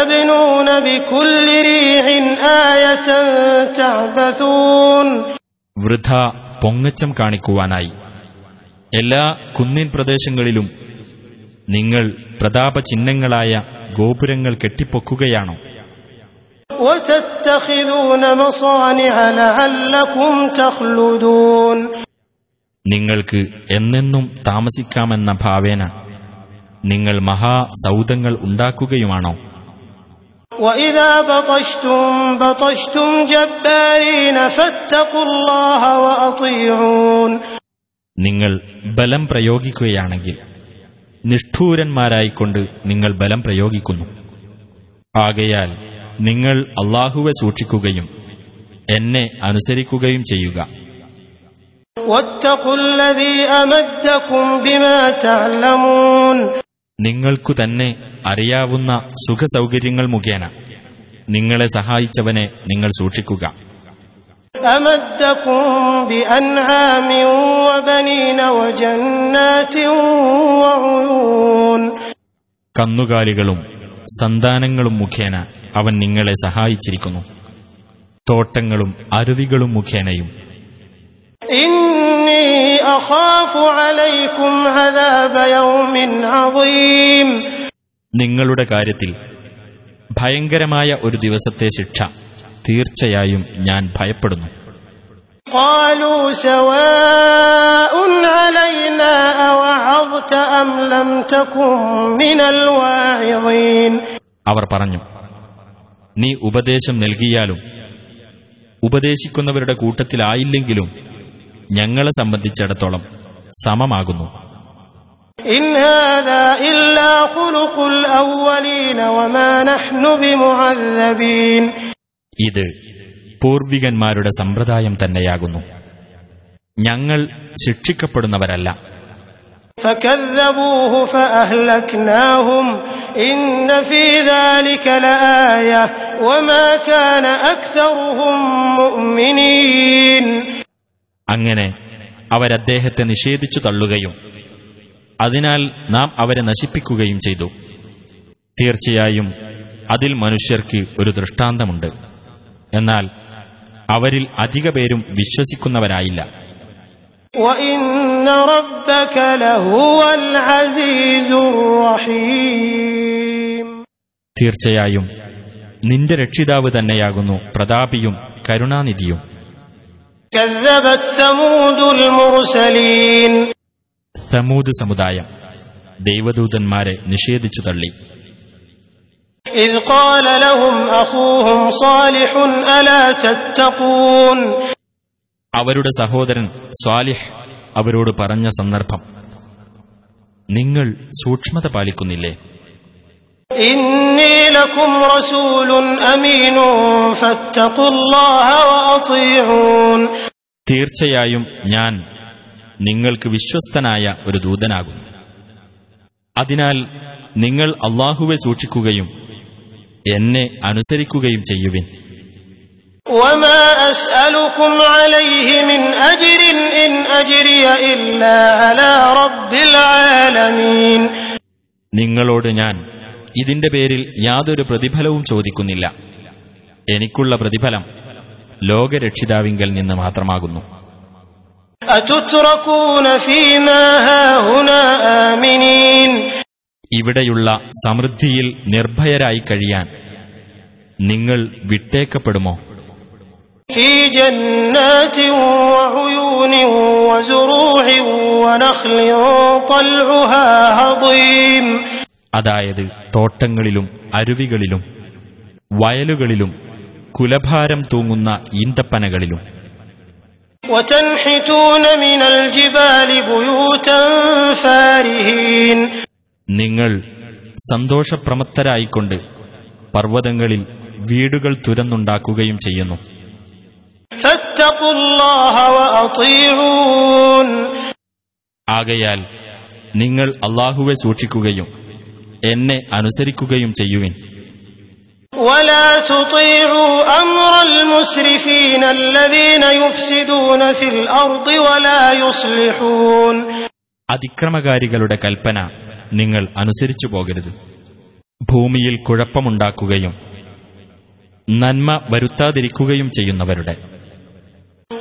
أتبنون بكل ريع آية تعبثون വൃഥ പൊങ്ങച്ചം കാണിക്കുവാനായി എല്ലാ കുന്നിൻ പ്രദേശങ്ങളിലും നിങ്ങൾ പ്രതാപചിഹ്നങ്ങളായ ഗോപുരങ്ങൾ കെട്ടിപ്പൊക്കുകയാണോ? നിങ്ങൾക്ക് എന്നെന്നും താമസിക്കാമെന്ന ഭാവേന നിങ്ങൾ മഹാസൗധങ്ങൾ ഉണ്ടാക്കുകയുമാണോ? നിങ്ങൾ ബലം പ്രയോഗിക്കുകയാണെങ്കിൽ നിഷ്ഠൂരന്മാരായിക്കൊണ്ട് നിങ്ങൾ ബലം പ്രയോഗിക്കുന്നു. ആകയാൽ നിങ്ങൾ അല്ലാഹുവെ സൂക്ഷിക്കുകയും എന്നെ അനുസരിക്കുകയും ചെയ്യുക. നിങ്ങൾക്കു തന്നെ അറിയാവുന്ന സുഖസൗകര്യങ്ങൾ മുഖേന നിങ്ങളെ സഹായിച്ചവനെ നിങ്ങൾ സൂക്ഷിക്കുക. കന്നുകാലികളും സന്താനങ്ങളും മുഖേന അവൻ നിങ്ങളെ സഹായിച്ചിരിക്കുന്നു. തോട്ടങ്ങളും അരുവികളും മുഖേനയും. നിങ്ങളുടെ കാര്യത്തിൽ ഭയങ്കരമായ ഒരു ദിവസത്തെ ശിക്ഷ തീർച്ചയായും ഞാൻ ഭയപ്പെടുന്നു. അവർ പറഞ്ഞു, നീ ഉപദേശം നൽകിയാലും ഉപദേശിക്കുന്നവരുടെ കൂട്ടത്തിലായില്ലെങ്കിലും ഞങ്ങളെ സംബന്ധിച്ചിടത്തോളം സമമാകുന്നു. ഇത് പൂർവികന്മാരുടെ സമ്പ്രദായം തന്നെയാകുന്നു. ഞങ്ങൾ ശിക്ഷിക്കപ്പെടുന്നവരല്ല. അങ്ങനെ അവരദ്ദേഹത്തെ നിഷേധിച്ചു തള്ളുകയും അതിനാൽ നാം അവരെ നശിപ്പിക്കുകയും ചെയ്തു. തീർച്ചയായും അതിൽ മനുഷ്യർക്ക് ഒരു ദൃഷ്ടാന്തമുണ്ട്. എന്നാൽ അവരിൽ അധിക പേരും വിശ്വസിക്കുന്നവരായില്ല. തീർച്ചയായും നിന്റെ രക്ഷിതാവ് തന്നെയാകുന്നു പ്രതാപിയും കരുണാനിധിയും. സമൂദ് സമുദായം ദൈവദൂതന്മാരെ നിഷേധിച്ചു തള്ളി. അവരുടെ സഹോദരൻ സ്വാലിഹ് അവരോട് പറഞ്ഞ സന്ദർഭം, നിങ്ങൾ സൂക്ഷ്മത പാലിക്കുന്നില്ലേ? തീർച്ചയായും ഞാൻ നിങ്ങൾക്ക് വിശ്വസ്തനായ ഒരു ദൂതനാകുന്നു. അതിനാൽ നിങ്ങൾ അല്ലാഹുവെ സൂക്ഷിക്കുകയും എന്നെ അനുസരിക്കുകയും ചെയ്യുവിൻ. നിങ്ങളോട് ഞാൻ ഇതിന്റെ പേരിൽ യാതൊരു പ്രതിഫലവും ചോദിക്കുന്നില്ല. എനിക്കുള്ള പ്രതിഫലം ലോകരക്ഷിതാവിങ്കൽ നിന്ന് മാത്രമാകുന്നു. ഇവിടെയുള്ള സമൃദ്ധിയിൽ നിർഭയരായി കഴിയാൻ നിങ്ങൾ വിട്ടേക്കപ്പെടുമോ? അതായത് തോട്ടങ്ങളിലും അരുവികളിലും വയലുകളിലും കുലഭാരം തൂങ്ങുന്ന ഈന്തപ്പനകളിലും. നിങ്ങൾ സന്തോഷപ്രമത്തരായിക്കൊണ്ട് പർവ്വതങ്ങളിൽ വീടുകൾ തുരന്നുണ്ടാക്കുകയും ചെയ്യുന്നു. ആകയാൽ നിങ്ങൾ അല്ലാഹുവെ സൂക്ഷിക്കുകയും എന്നെ അനുസരിക്കുകയും ചെയ്യുവിൻ. അതിക്രമകാരികളുടെ കൽപ്പന നിങ്ങൾ അനുസരിച്ചു പോകരുത്. ഭൂമിയിൽ കുഴപ്പമുണ്ടാക്കുകയും നന്മ വരുത്താതിരിക്കുകയും ചെയ്യുന്നവരുടെ.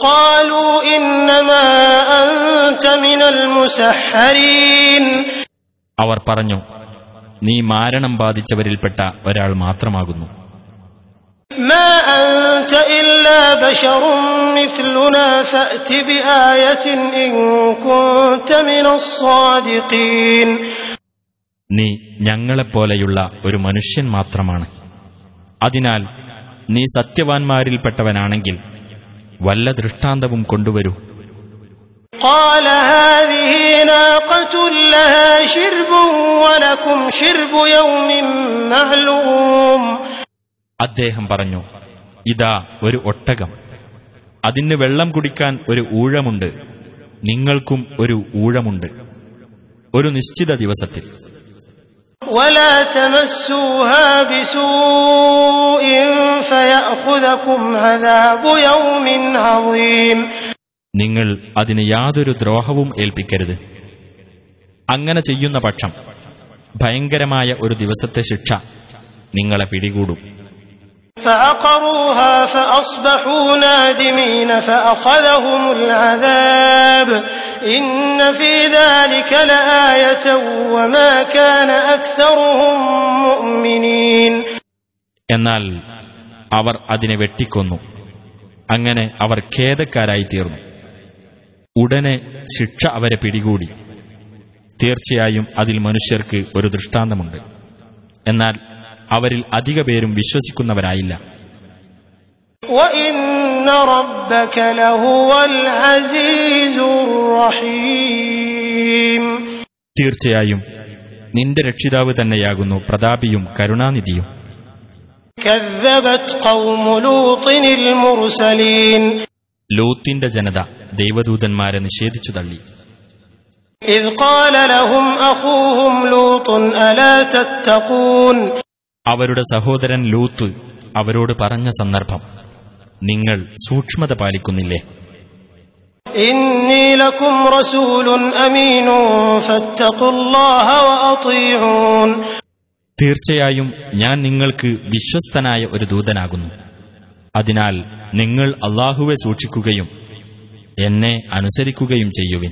قالوا إنما أنت من المسحرين. അവർ പറഞ്ഞു, നീ മാരണം ബാധിച്ചവരിൽപ്പെട്ട ഒരാൾ മാത്രമാകുന്നു. ما أنت إلا بشر مثلنا فأت بآية إن كنت من الصادقين. നീ ഞങ്ങളെപ്പോലെയുള്ള ഒരു മനുഷ്യൻ മാത്രമാണ്. അതിനാൽ നീ സത്യവാൻമാരിൽപ്പെട്ടവനാണെങ്കിൽ വല്ല ദൃഷ്ടാന്തവും കൊണ്ടുവരൂ. قال هذه ناقة لها شرب ولكم شرب يوم معلوم. അദ്ദേഹം പറഞ്ഞു, ഇതാ ഒരു ഒട്ടകം, അതിന് വെള്ളം കുടിക്കാൻ ഒരു ഊഴമുണ്ട്, നിങ്ങൾക്കും ഒരു ഊഴമുണ്ട്, ഒരു നിശ്ചിത ദിവസത്തിൽ. ولا تمسوها بسوء فيأخذكم عذاب يوم عظيم. നിങ്ങൾ അതിന് യാതൊരു ദ്രോഹവും ഏൽപ്പിക്കരുത്. അങ്ങനെ ചെയ്യുന്ന പക്ഷം ഭയങ്കരമായ ഒരു ദിവസത്തെ ശിക്ഷ നിങ്ങളെ പിടികൂടും. فعقروها فأصبحوا نادمين فأخذهم العذاب إن في ذلك لآية وما كان أكثرهم مؤمنين. എന്നാൽ അവർ അതിനെ വെട്ടിക്കൊന്നു. അങ്ങനെ അവർ ഖേദക്കാരായി തീർന്നു. ഉടനെ ശിക്ഷ അവരെ പിടികൂടി. തീർച്ചയായും അതിൽ മനുഷ്യർക്ക് ഒരു ദൃഷ്ടാന്തമുണ്ട്. എന്നാൽ അവരിൽ അധിക പേരും വിശ്വസിക്കുന്നവരായില്ല. وَإِنَّ رَبَّكَ لَهُوَ الْعَزِيزُ الرَّحِيمُ. തീർച്ചയായും നിന്റെ രക്ഷിതാവ് തന്നെയാകുന്നു പ്രതാപിയും കരുണാനിധിയും. كَذَّبَتْ قَوْمُ لُوطٍ الْمُرْسَلِينَ. ലൂത്തിന്റെ ജനത ദൈവദൂതന്മാരെ നിഷേധിച്ചു തള്ളി. إِذْ قَالَ لَهُمْ أَخُوهُمْ لُوطٌ أَلَا تَتَّقُونَ. അവരുടെ സഹോദരൻ ലൂത്ത് അവരോട് പറഞ്ഞ സന്ദർഭം, നിങ്ങൾ സൂക്ഷ്മത പാലിക്കുന്നില്ലേ? إِنِّي لَكُمْ رَسُولٌ أَمِينٌ فَاتَّقُوا اللَّهَ وَأَطِيعُونِ. തീർച്ചയായും ഞാൻ നിങ്ങൾക്ക് വിശ്വസ്തനായ ഒരു ദൂതനാകുന്നു. അതിനാൽ നിങ്ങൾ അല്ലാഹുവെ സൂക്ഷിക്കുകയും എന്നെ അനുസരിക്കുകയും ചെയ്യുവിൻ.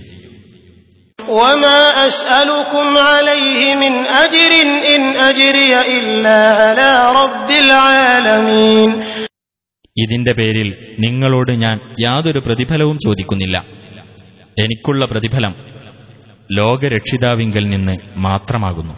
وَمَا أَسْأَلُكُمْ عَلَيْهِ مِنْ أَجْرٍ إِنْ أَجْرِيَ إِلَّا عَلَى رَبِّ الْعَالَمِينَ. ഇതിന്റെ പേരിൽ നിങ്ങളോട് ഞാൻ യാതൊരു പ്രതിഫലവും ചോദിക്കുന്നില്ല. എനിക്കുള്ള പ്രതിഫലം ലോകരക്ഷിതാവിങ്കൽ നിന്ന് മാത്രമാകുന്നു.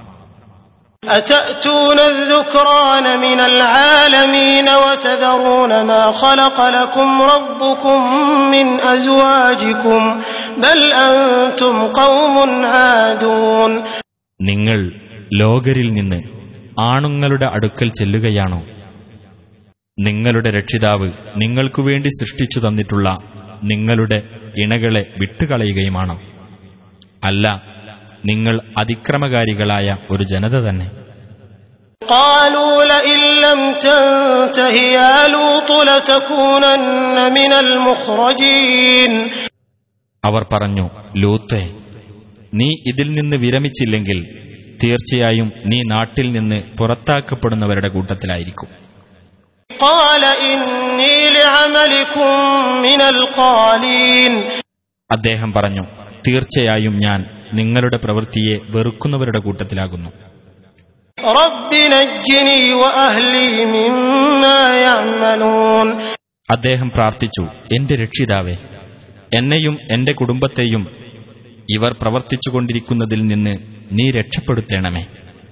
أتأتون الذكران من العالمين وتذرون ما خلق لكم ربكم من أزواجكم بل أنتم قوم عادون. നിങ്ങൾ ലോകരിൽ നിന്ന് ആണുങ്ങളുടെ അടുക്കൽ ചെല്ലുകയാണോ? നിങ്ങളുടെ രക്ഷിതാവ് നിങ്ങൾക്കു വേണ്ടി സൃഷ്ടിച്ചു തന്നിട്ടുള്ള നിങ്ങളുടെ ഇണകളെ വിട്ടുകളയുകയുമാണോ? അല്ല, നിങ്ങൾ അതിക്രമകാരികളായ ഒരു ജനത തന്നെ. قالوا لئن لم تنته يا لوط لتكونن من المخرجين. അവർ പറഞ്ഞു, ലൂത്തേ, നീ ഇതിൽ നിന്ന് വിരമിച്ചില്ലെങ്കിൽ തീർച്ചയായും നീ നാട്ടിൽ നിന്ന് പുറത്താക്കപ്പെടുന്നവരുടെ കൂട്ടത്തിലായിരിക്കും. قال إني لعملكم من القالين. അദ്ദേഹം പറഞ്ഞു, തീർച്ചയായും ഞാൻ നിങ്ങളുടെ പ്രവൃത്തിയെ വെറുക്കുന്നവരുടെ കൂട്ടത്തിലാകുന്നു. رب نجني وأهلي مما يعملون. അദ്ദേഹം പ്രാർത്ഥിച്ചു, എന്റെ രക്ഷിതാവേ, എന്നെയും എന്റെ കുടുംബത്തെയും ഇവർ പ്രവർത്തിച്ചുകൊണ്ടിരിക്കുന്നതിൽ നിന്ന് നീ രക്ഷപ്പെടുത്തണമേ.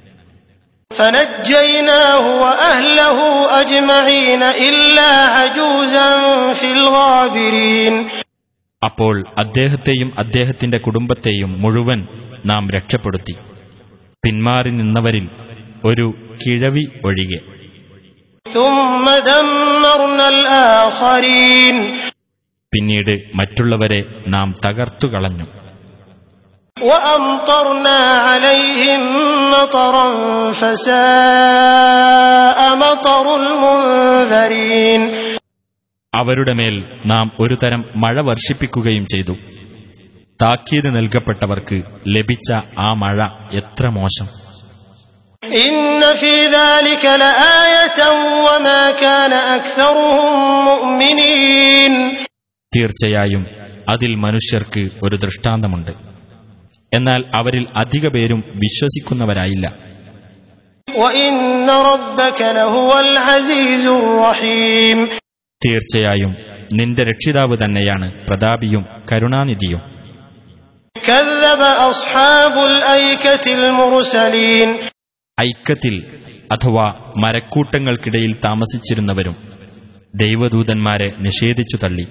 فنجيناه وأهله أجمعين إلا عجوزا في الغابرين. അപ്പോൾ അദ്ദേഹത്തെയും അദ്ദേഹത്തിന്റെ കുടുംബത്തെയും മുഴുവൻ നാം രക്ഷപ്പെടുത്തി, പിന്മാറി നിന്നവരിൽ ഒരു കിഴവി ഒഴികെ. ثم دمرنا الآخرين. പിന്നീട് മറ്റുള്ളവരെ നാം തകർത്തുകളഞ്ഞു. وأمطرنا عليهم مطرا فساء مطر المنذرين. അവരുടെ മേൽ നാം ഒരു തരം മഴ വർഷിപ്പിക്കുകയും ചെയ്തു. താക്കീത് നൽകപ്പെട്ടവർക്ക് ലഭിച്ച ആ മഴ എത്ര മോശം! إن في ذلك لآية وما كان أكثرهم مؤمنين. തീർച്ചയായും അതിൽ മനുഷ്യർക്ക് ഒരു ദൃഷ്ടാന്തമുണ്ട്. എന്നാൽ അവരിൽ അധിക പേരും വിശ്വസിക്കുന്നവരായില്ല. തീർച്ചയായും നിന്റെ രക്ഷിതാവ് തന്നെയാണ് പ്രതാപിയും കരുണാനിധിയും. ഐക്യത്തിൽ അഥവാ മരക്കൂട്ടങ്ങൾക്കിടയിൽ താമസിച്ചിരുന്നവരും ദൈവദൂതന്മാരെ നിഷേധിച്ചു തള്ളി.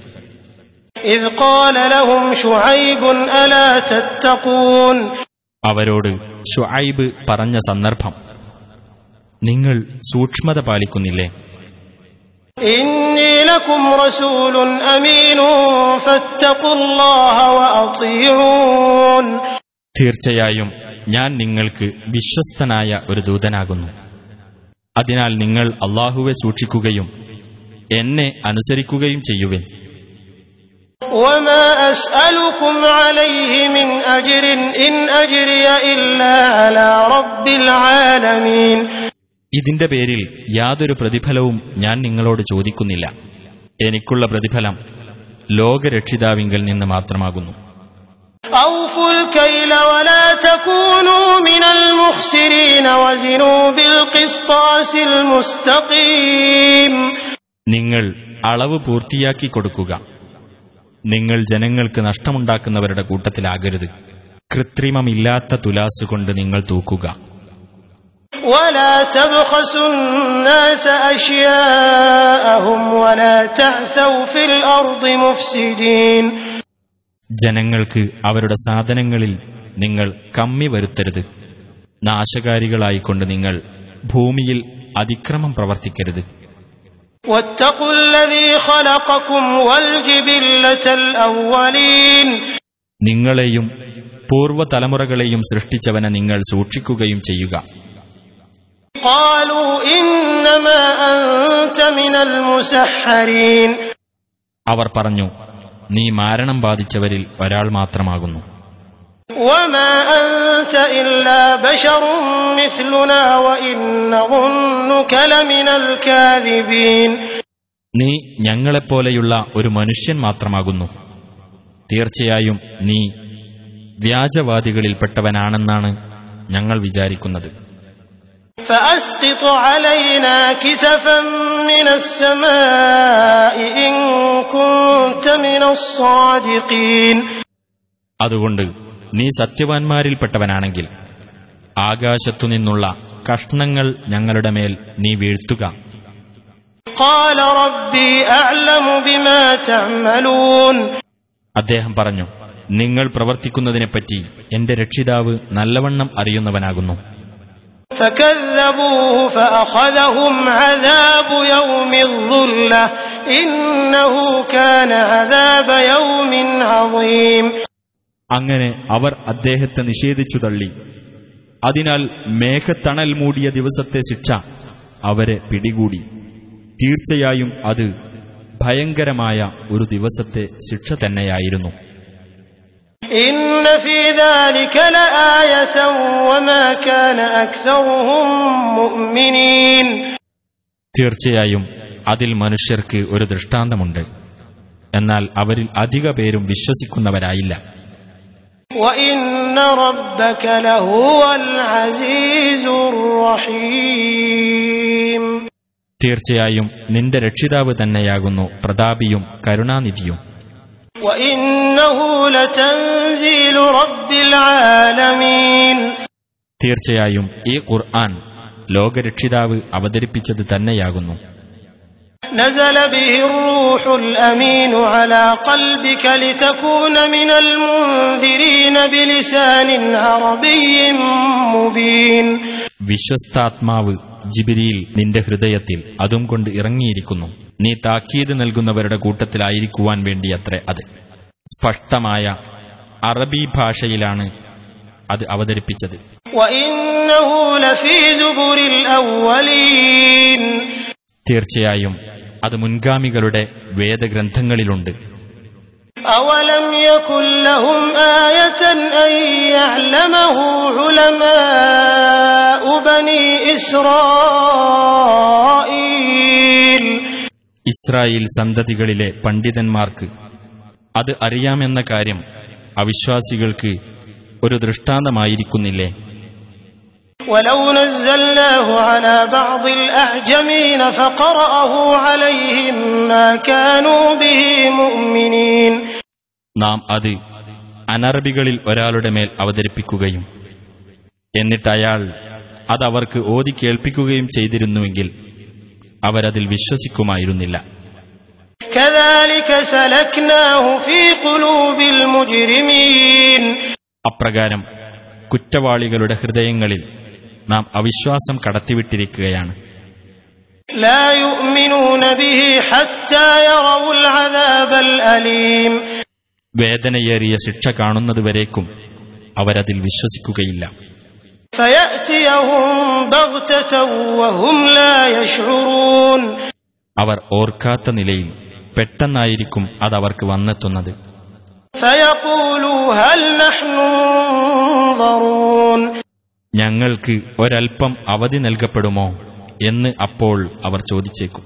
അവരോട് ശുഐബ് പറഞ്ഞ സന്ദർഭം, നിങ്ങൾ സൂക്ഷ്മത പാലിക്കുന്നില്ലേ? ഇന്നി ലകും റസൂലുൻ അമീനുൻ ഫത്തഖുല്ലാഹ വഅതിഊൻ. തീർച്ചയായും ഞാൻ നിങ്ങൾക്ക് വിശ്വസ്തനായ ഒരു ദൂതനാകുന്നു. അതിനാൽ നിങ്ങൾ അല്ലാഹുവെ സൂക്ഷിക്കുകയും എന്നെ അനുസരിക്കുകയും ചെയ്യുവിൻ. വമാ അസ്അലുകും അലൈഹി മിൻ അജ്രിൻ ഇൻ അജ്രിയ ഇല്ലാ അലാ റബ്ബിൽ ആലമീൻ. ഇതിന്റെ പേരിൽ യാതൊരു പ്രതിഫലവും ഞാൻ നിങ്ങളോട് ചോദിക്കുന്നില്ല. എനിക്കുള്ള പ്രതിഫലം ലോകരക്ഷിതാവിങ്കൽ നിന്ന് മാത്രമാകുന്നു. ഔഫുൽ കൈല വലാ തകൂനൂ മിനൽ മുഖ്സിരീന വസിനൂ ബിൽ ഖിസ്താസിൽ മുസ്തഖീം. നിങ്ങൾ അളവ് പൂർത്തിയാക്കി കൊടുക്കുക. നിങ്ങൾ ജനങ്ങൾക്ക് നഷ്ടമുണ്ടാക്കുന്നവരുടെ കൂട്ടത്തിലാകരുത്. കൃത്രിമമില്ലാത്ത തുലാസ് കൊണ്ട് നിങ്ങൾ തൂക്കുക. ولا تبخسوا الناس أشياءهم ولا تعثوا في الأرض مفسدين. ജനങ്ങൾക്ക് അവരുടെ സാധനങ്ങളിൽ നിങ്ങൾ കമ്മി വരുത്തരുത്. നാശകാരികളായിക്കൊണ്ട് നിങ്ങൾ ഭൂമിയിൽ അതിക്രമം പ്രവർത്തിക്കരുത്. واتقوا الذي خلقكم والجبلة الأولين. നിങ്ങളെയും പൂർവ്വതലമുറകളെയും സൃഷ്ടിച്ചവനെ നിങ്ങൾ സൂക്ഷിക്കുകയും ചെയ്യുക. قالوا إنما أنت من المسحرين. അവർ പറഞ്ഞു, നീ മാരണം ബാധിച്ചവരിൽ ഒരാൾ മാത്രമാകുന്നു. وما أنت إلا بشر مثلنا وإن نظنك لمن الكاذبين. നീ ഞങ്ങളെപ്പോലെയുള്ള ഒരു മനുഷ്യൻ മാത്രമാകുന്നു. തീർച്ചയായും നീ വ്യാജവാദികളിൽപ്പെട്ടവനാണെന്നാണ് ഞങ്ങൾ വിചാരിക്കുന്നത്. فأسقط علينا كسفا من السماء إن كنت من الصادقين. അതുകൊണ്ട് നീ സത്യവാൻമാരിൽപ്പെട്ടവനാണെങ്കിൽ ആകാശത്തുനിന്നുള്ള കഷ്ണങ്ങൾ ഞങ്ങളുടെ മേൽ നീ വീഴ്ത്തുക. قال ربي أعلم بما تعملون. അദ്ദേഹം പറഞ്ഞു, നിങ്ങൾ പ്രവർത്തിക്കുന്നതിനെപ്പറ്റി എന്റെ രക്ഷിതാവ് നല്ലവണ്ണം അറിയുന്നവനാകുന്നു. فكذبوه فأخذهم عذاب يوم الظلة إنه كان عذاب يوم عظيم. അങ്ങനെ അവർ അദ്ദേഹത്തെ നിഷേധിച്ചു തള്ളി. അതിനാൽ മേഘത്തണൽ മൂടിയ ദിവസത്തെ ശിക്ഷ അവരെ പിടികൂടി. തീർച്ചയായും അത് ഭയങ്കരമായ ഒരു ദിവസത്തെ ശിക്ഷ തന്നെയായിരുന്നു. إن في ذلك لآية وما كان أكثرهم مؤمنين. തീർച്ചയായും അതിൽ മനുഷ്യർക്ക് ഒരു ദൃഷ്ടാന്തമുണ്ട്. എന്നാൽ അവരിൽ അധിക പേരും വിശ്വസിക്കുന്നവരായില്ല. وإن ربك لهو العزيز الرحيم. തീർച്ചയായും നിന്റെ രക്ഷിതാവ് തന്നെയാകുന്നു പ്രതാപിയും കരുണാനിധിയും. وإنه لتنزيل رب العالمين. തീർച്ചയായും ഈ ഖുർആൻ ലോകരക്ഷിതാവ് അവതരിപ്പിച്ചത് തന്നെയാകുന്നു. نزل به الروح الأمين على قلبك لتكون من المنذرين بلسان عربي مبين. വിശ്വസ്താത്മാവ് ജിബ്രീൽ നിന്റെ ഹൃദയത്തിൽ അതും കൊണ്ട് ഇറങ്ങിയിരിക്കുന്നു. നീ താക്കീത് നൽകുന്നവരുടെ കൂട്ടത്തിലായിരിക്കുവാൻ വേണ്ടിയത്രേ അത്. സ്പഷ്ടമായ അറബി ഭാഷയിലാണ് അത് അവതരിപ്പിച്ചത്. وإنه لفي زبر الأولين. തീർച്ചയായും അത് മുൻഗാമികളുടെ വേദഗ്രന്ഥങ്ങളിലുണ്ട്. أولم يكن لهم آية أن يعلمه علماء بني إسرائيل. ഇസ്രായേൽ സന്തതികളിലെ പണ്ഡിതന്മാർക്ക് അത് അറിയാമെന്ന കാര്യം അവിശ്വാസികൾക്ക് ഒരു ദൃഷ്ടാന്തമായിരിക്കുന്നില്ലേ? ولو نزلناه على بعض الأعجمين فقرأه عليهم ما كانوا به مؤمنين. നാം അത് അനറബികളിൽ ഒരാളുടെ മേൽ അവതരിപ്പിക്കുകയും എന്നിട്ട് അയാൾ അതവർക്ക് ഓതി കേൾപ്പിക്കുകയും ചെയ്തിരുന്നുവെങ്കിൽ അവരതിൽ വിശ്വസിക്കുമായിരുന്നില്ല. كذلك سلكناه في قلوب المجرمين. അപ്രകാരം കുറ്റവാളികളുടെ ഹൃദയങ്ങളിൽ നാം അവിശ്വാസം കടത്തിവിട്ടിരിക്കുകയാണ്. لا يؤمنون به حتى يروا العذاب الأليم. വേദനയേറിയ ശിക്ഷ കാണുന്നതുവരേക്കും അവരതിൽ വിശ്വസിക്കുകയില്ല. فيأتيهم بغتة وهم لا يشعرون. അവർ ഓർക്കാത്ത നിലയിൽ പെട്ടെന്നായിരിക്കും അതവർക്ക് വന്നെത്തുന്നത്. فيقولوا هل نحن منظرون. ഞങ്ങൾക്ക് ഒരൽപ്പം അവധി നൽകപ്പെടുമോ എന്ന് അപ്പോൾ അവർ ചോദിച്ചേക്കും.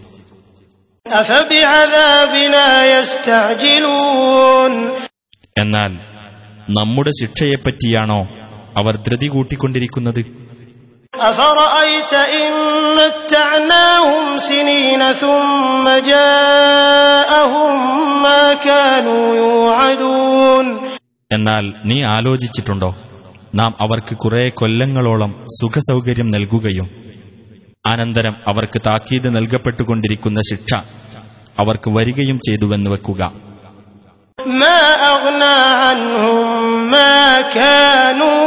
أفبعذابنا يستعجلون. എന്നാൽ നമ്മുടെ ശിക്ഷയെപ്പറ്റിയാണോ അവർ ധൃതി കൂട്ടിക്കൊണ്ടിരിക്കുന്നത്? أفرأيت إن متعناهم سنين ثم جاءهم ما كانوا يوعدون. എന്നാൽ നീ ആലോചിച്ചിട്ടുണ്ടോ, നാം അവർക്ക് കുറെ കൊല്ലങ്ങളോളം സുഖസൗകര്യം നൽകുകയും അനന്തരം അവർക്ക് താക്കീത് നൽകപ്പെട്ടുകൊണ്ടിരിക്കുന്ന ശിക്ഷ അവർക്ക് വരികയും ചെയ്തുവെന്ന് വെക്കുക. ما أغنى عنهم ما كانوا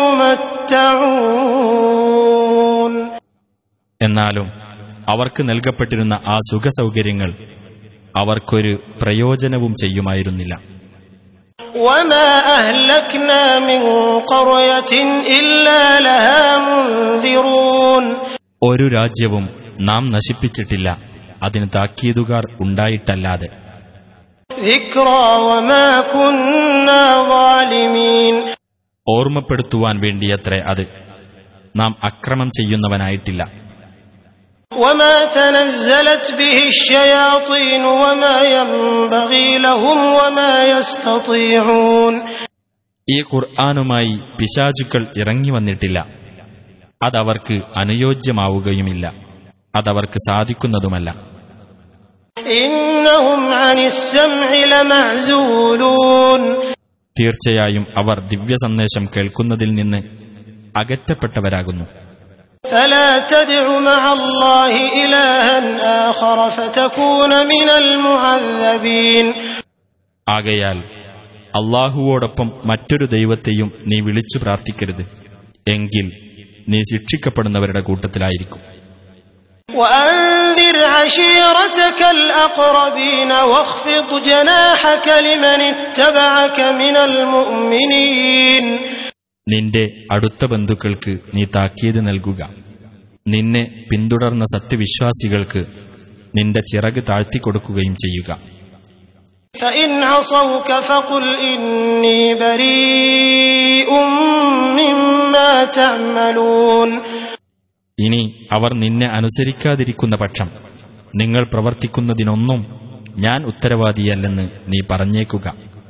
يمتعون. എന്നാലും അവർക്ക് നൽകപ്പെട്ടിരുന്ന ആ സുഖസൗകര്യങ്ങൾ അവർക്കൊരു പ്രയോജനവും ചെയ്യുമായിരുന്നില്ല. وما أهلكنا من قرية إلا لها منذرون. ഒരു രാജ്യവും നാം നശിപ്പിച്ചിട്ടില്ല, അതിന് താക്കീതുകാർ ഉണ്ടായിട്ടല്ലാതെ. ഓർമ്മപ്പെടുത്തുവാൻ വേണ്ടിയത്രേ അത്, നാം അക്രമം ചെയ്യുന്നവനായിട്ടില്ല. ഈ ഖുർആനുമായി പിശാചുക്കൾ ഇറങ്ങി വന്നിട്ടില്ല, അതവർക്ക് അനുയോജ്യമാവുകയുമില്ല, അതവർക്ക് സാധിക്കുന്നതുമല്ല. തീർച്ചയായും അവർ ദിവ്യ സന്ദേശം കേൾക്കുന്നതിൽ നിന്ന് അകറ്റപ്പെട്ടവരാകുന്നു. ആകയാൽ അല്ലാഹുവോടൊപ്പം മറ്റൊരു ദൈവത്തെയും നീ വിളിച്ചു പ്രാർത്ഥിക്കരുത്, എങ്കിൽ നീ ശിക്ഷിക്കപ്പെടുന്നവരുടെ കൂട്ടത്തിലായിരിക്കും. നിന്റെ അടുത്ത ബന്ധുക്കൾക്ക് നീ താക്കീത് നൽകുക. നിന്നെ പിന്തുടർന്ന സത്യവിശ്വാസികൾക്ക് നിന്റെ ചിറക് താഴ്ത്തിക്കൊടുക്കുകയും ചെയ്യുക. ഇനി അവർ നിന്നെ അനുസരിക്കാതിരിക്കുന്ന പക്ഷം നിങ്ങൾ പ്രവർത്തിക്കുന്നതിനൊന്നും ഞാൻ ഉത്തരവാദിയല്ലെന്ന് നീ പറഞ്ഞേക്കുക.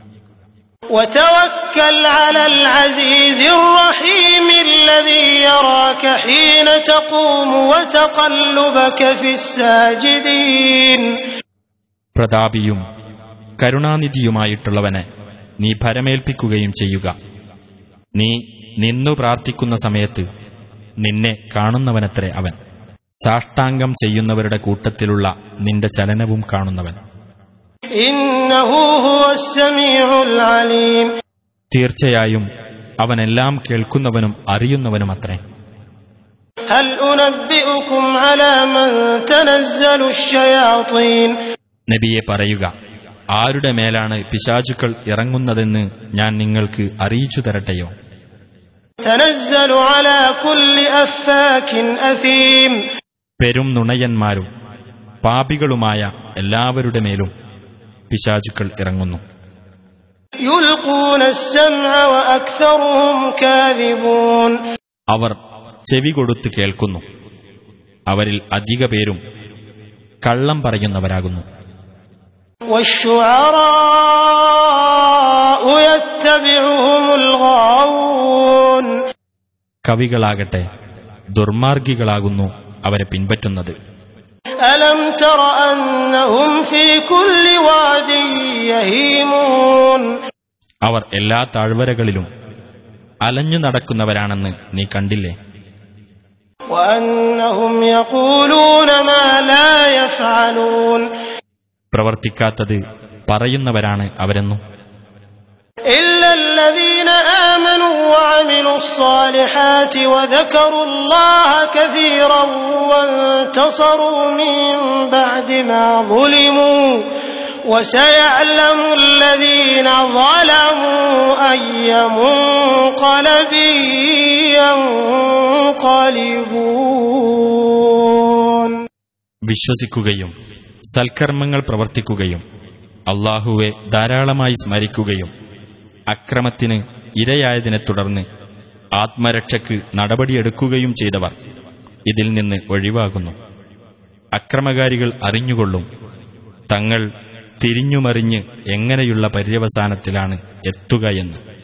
പ്രതാപിയും കരുണാനിധിയുമായിട്ടുള്ളവനെ നീ ഭരമേൽപ്പിക്കുകയും ചെയ്യുക. നീ നിന്നു പ്രാർത്ഥിക്കുന്ന സമയത്ത് നിന്നെ കാണുന്നവനത്രേ അവൻ, സാഷ്ടാംഗം ചെയ്യുന്നവരുടെ കൂട്ടത്തിലുള്ള നിന്റെ ചലനവും കാണുന്നവൻ. തീർച്ചയായും അവനെല്ലാം കേൾക്കുന്നവനും അറിയുന്നവനുമത്രേ. നബിയെ പറയുക, ആരുടെ മേലാണ് പിശാചുക്കൾ ഇറങ്ങുന്നതെന്ന് ഞാൻ നിങ്ങൾക്ക് അറിയിച്ചു തരട്ടെയോ? പെരും നുണയന്മാരും പാപികളുമായ എല്ലാവരുടെ മേലും പിശാചുക്കൾ ഇറങ്ങുന്നു. അവർ ചെവി കൊടുത്ത് കേൾക്കുന്നു, അവരിൽ അധിക പേരും കള്ളം പറയുന്നവരാകുന്നു. والشعراء يتبعهم الغاوون. കവികളാകട്ടെ ദുർമാർഗികളാകുന്നു അവരെ പിൻപറ്റുന്നത്. ألم تر أنهم في كل واد يهيمون. അവർ എല്ലാ താഴ്വരകളിലും അലഞ്ഞു നടക്കുന്നവരാണെന്ന് നീ കണ്ടില്ലേ? وأنهم يقولون ما لا يفعلون. പ്രവർത്തിക്കാത്തത് പറയുന്നവരാണ് അവരെന്നും. إلا الذين آمنوا وعملوا الصالحات وذكروا الله كثيرا وانتصروا من بعد ما ظلموا وسيعلم الذين ظلموا أي منقلب ينقلبون. വിശ്വസിക്കുകയും സൽക്കർമ്മങ്ങൾ പ്രവർത്തിക്കുകയും അല്ലാഹുവെ ധാരാളമായി സ്മരിക്കുകയും അക്രമത്തിന് ഇരയായതിനെ തുടർന്ന് ആത്മരക്ഷയ്ക്ക് നടപടിയെടുക്കുകയും ചെയ്തവർ ഇതിൽ നിന്ന് ഒഴിവാകുന്നു. അക്രമകാരികൾ അറിഞ്ഞുകൊള്ളും തങ്ങൾ തിരിഞ്ഞുമറിഞ്ഞ് എങ്ങനെയുള്ള പര്യവസാനത്തിലാണ് എത്തുകയെന്ന്.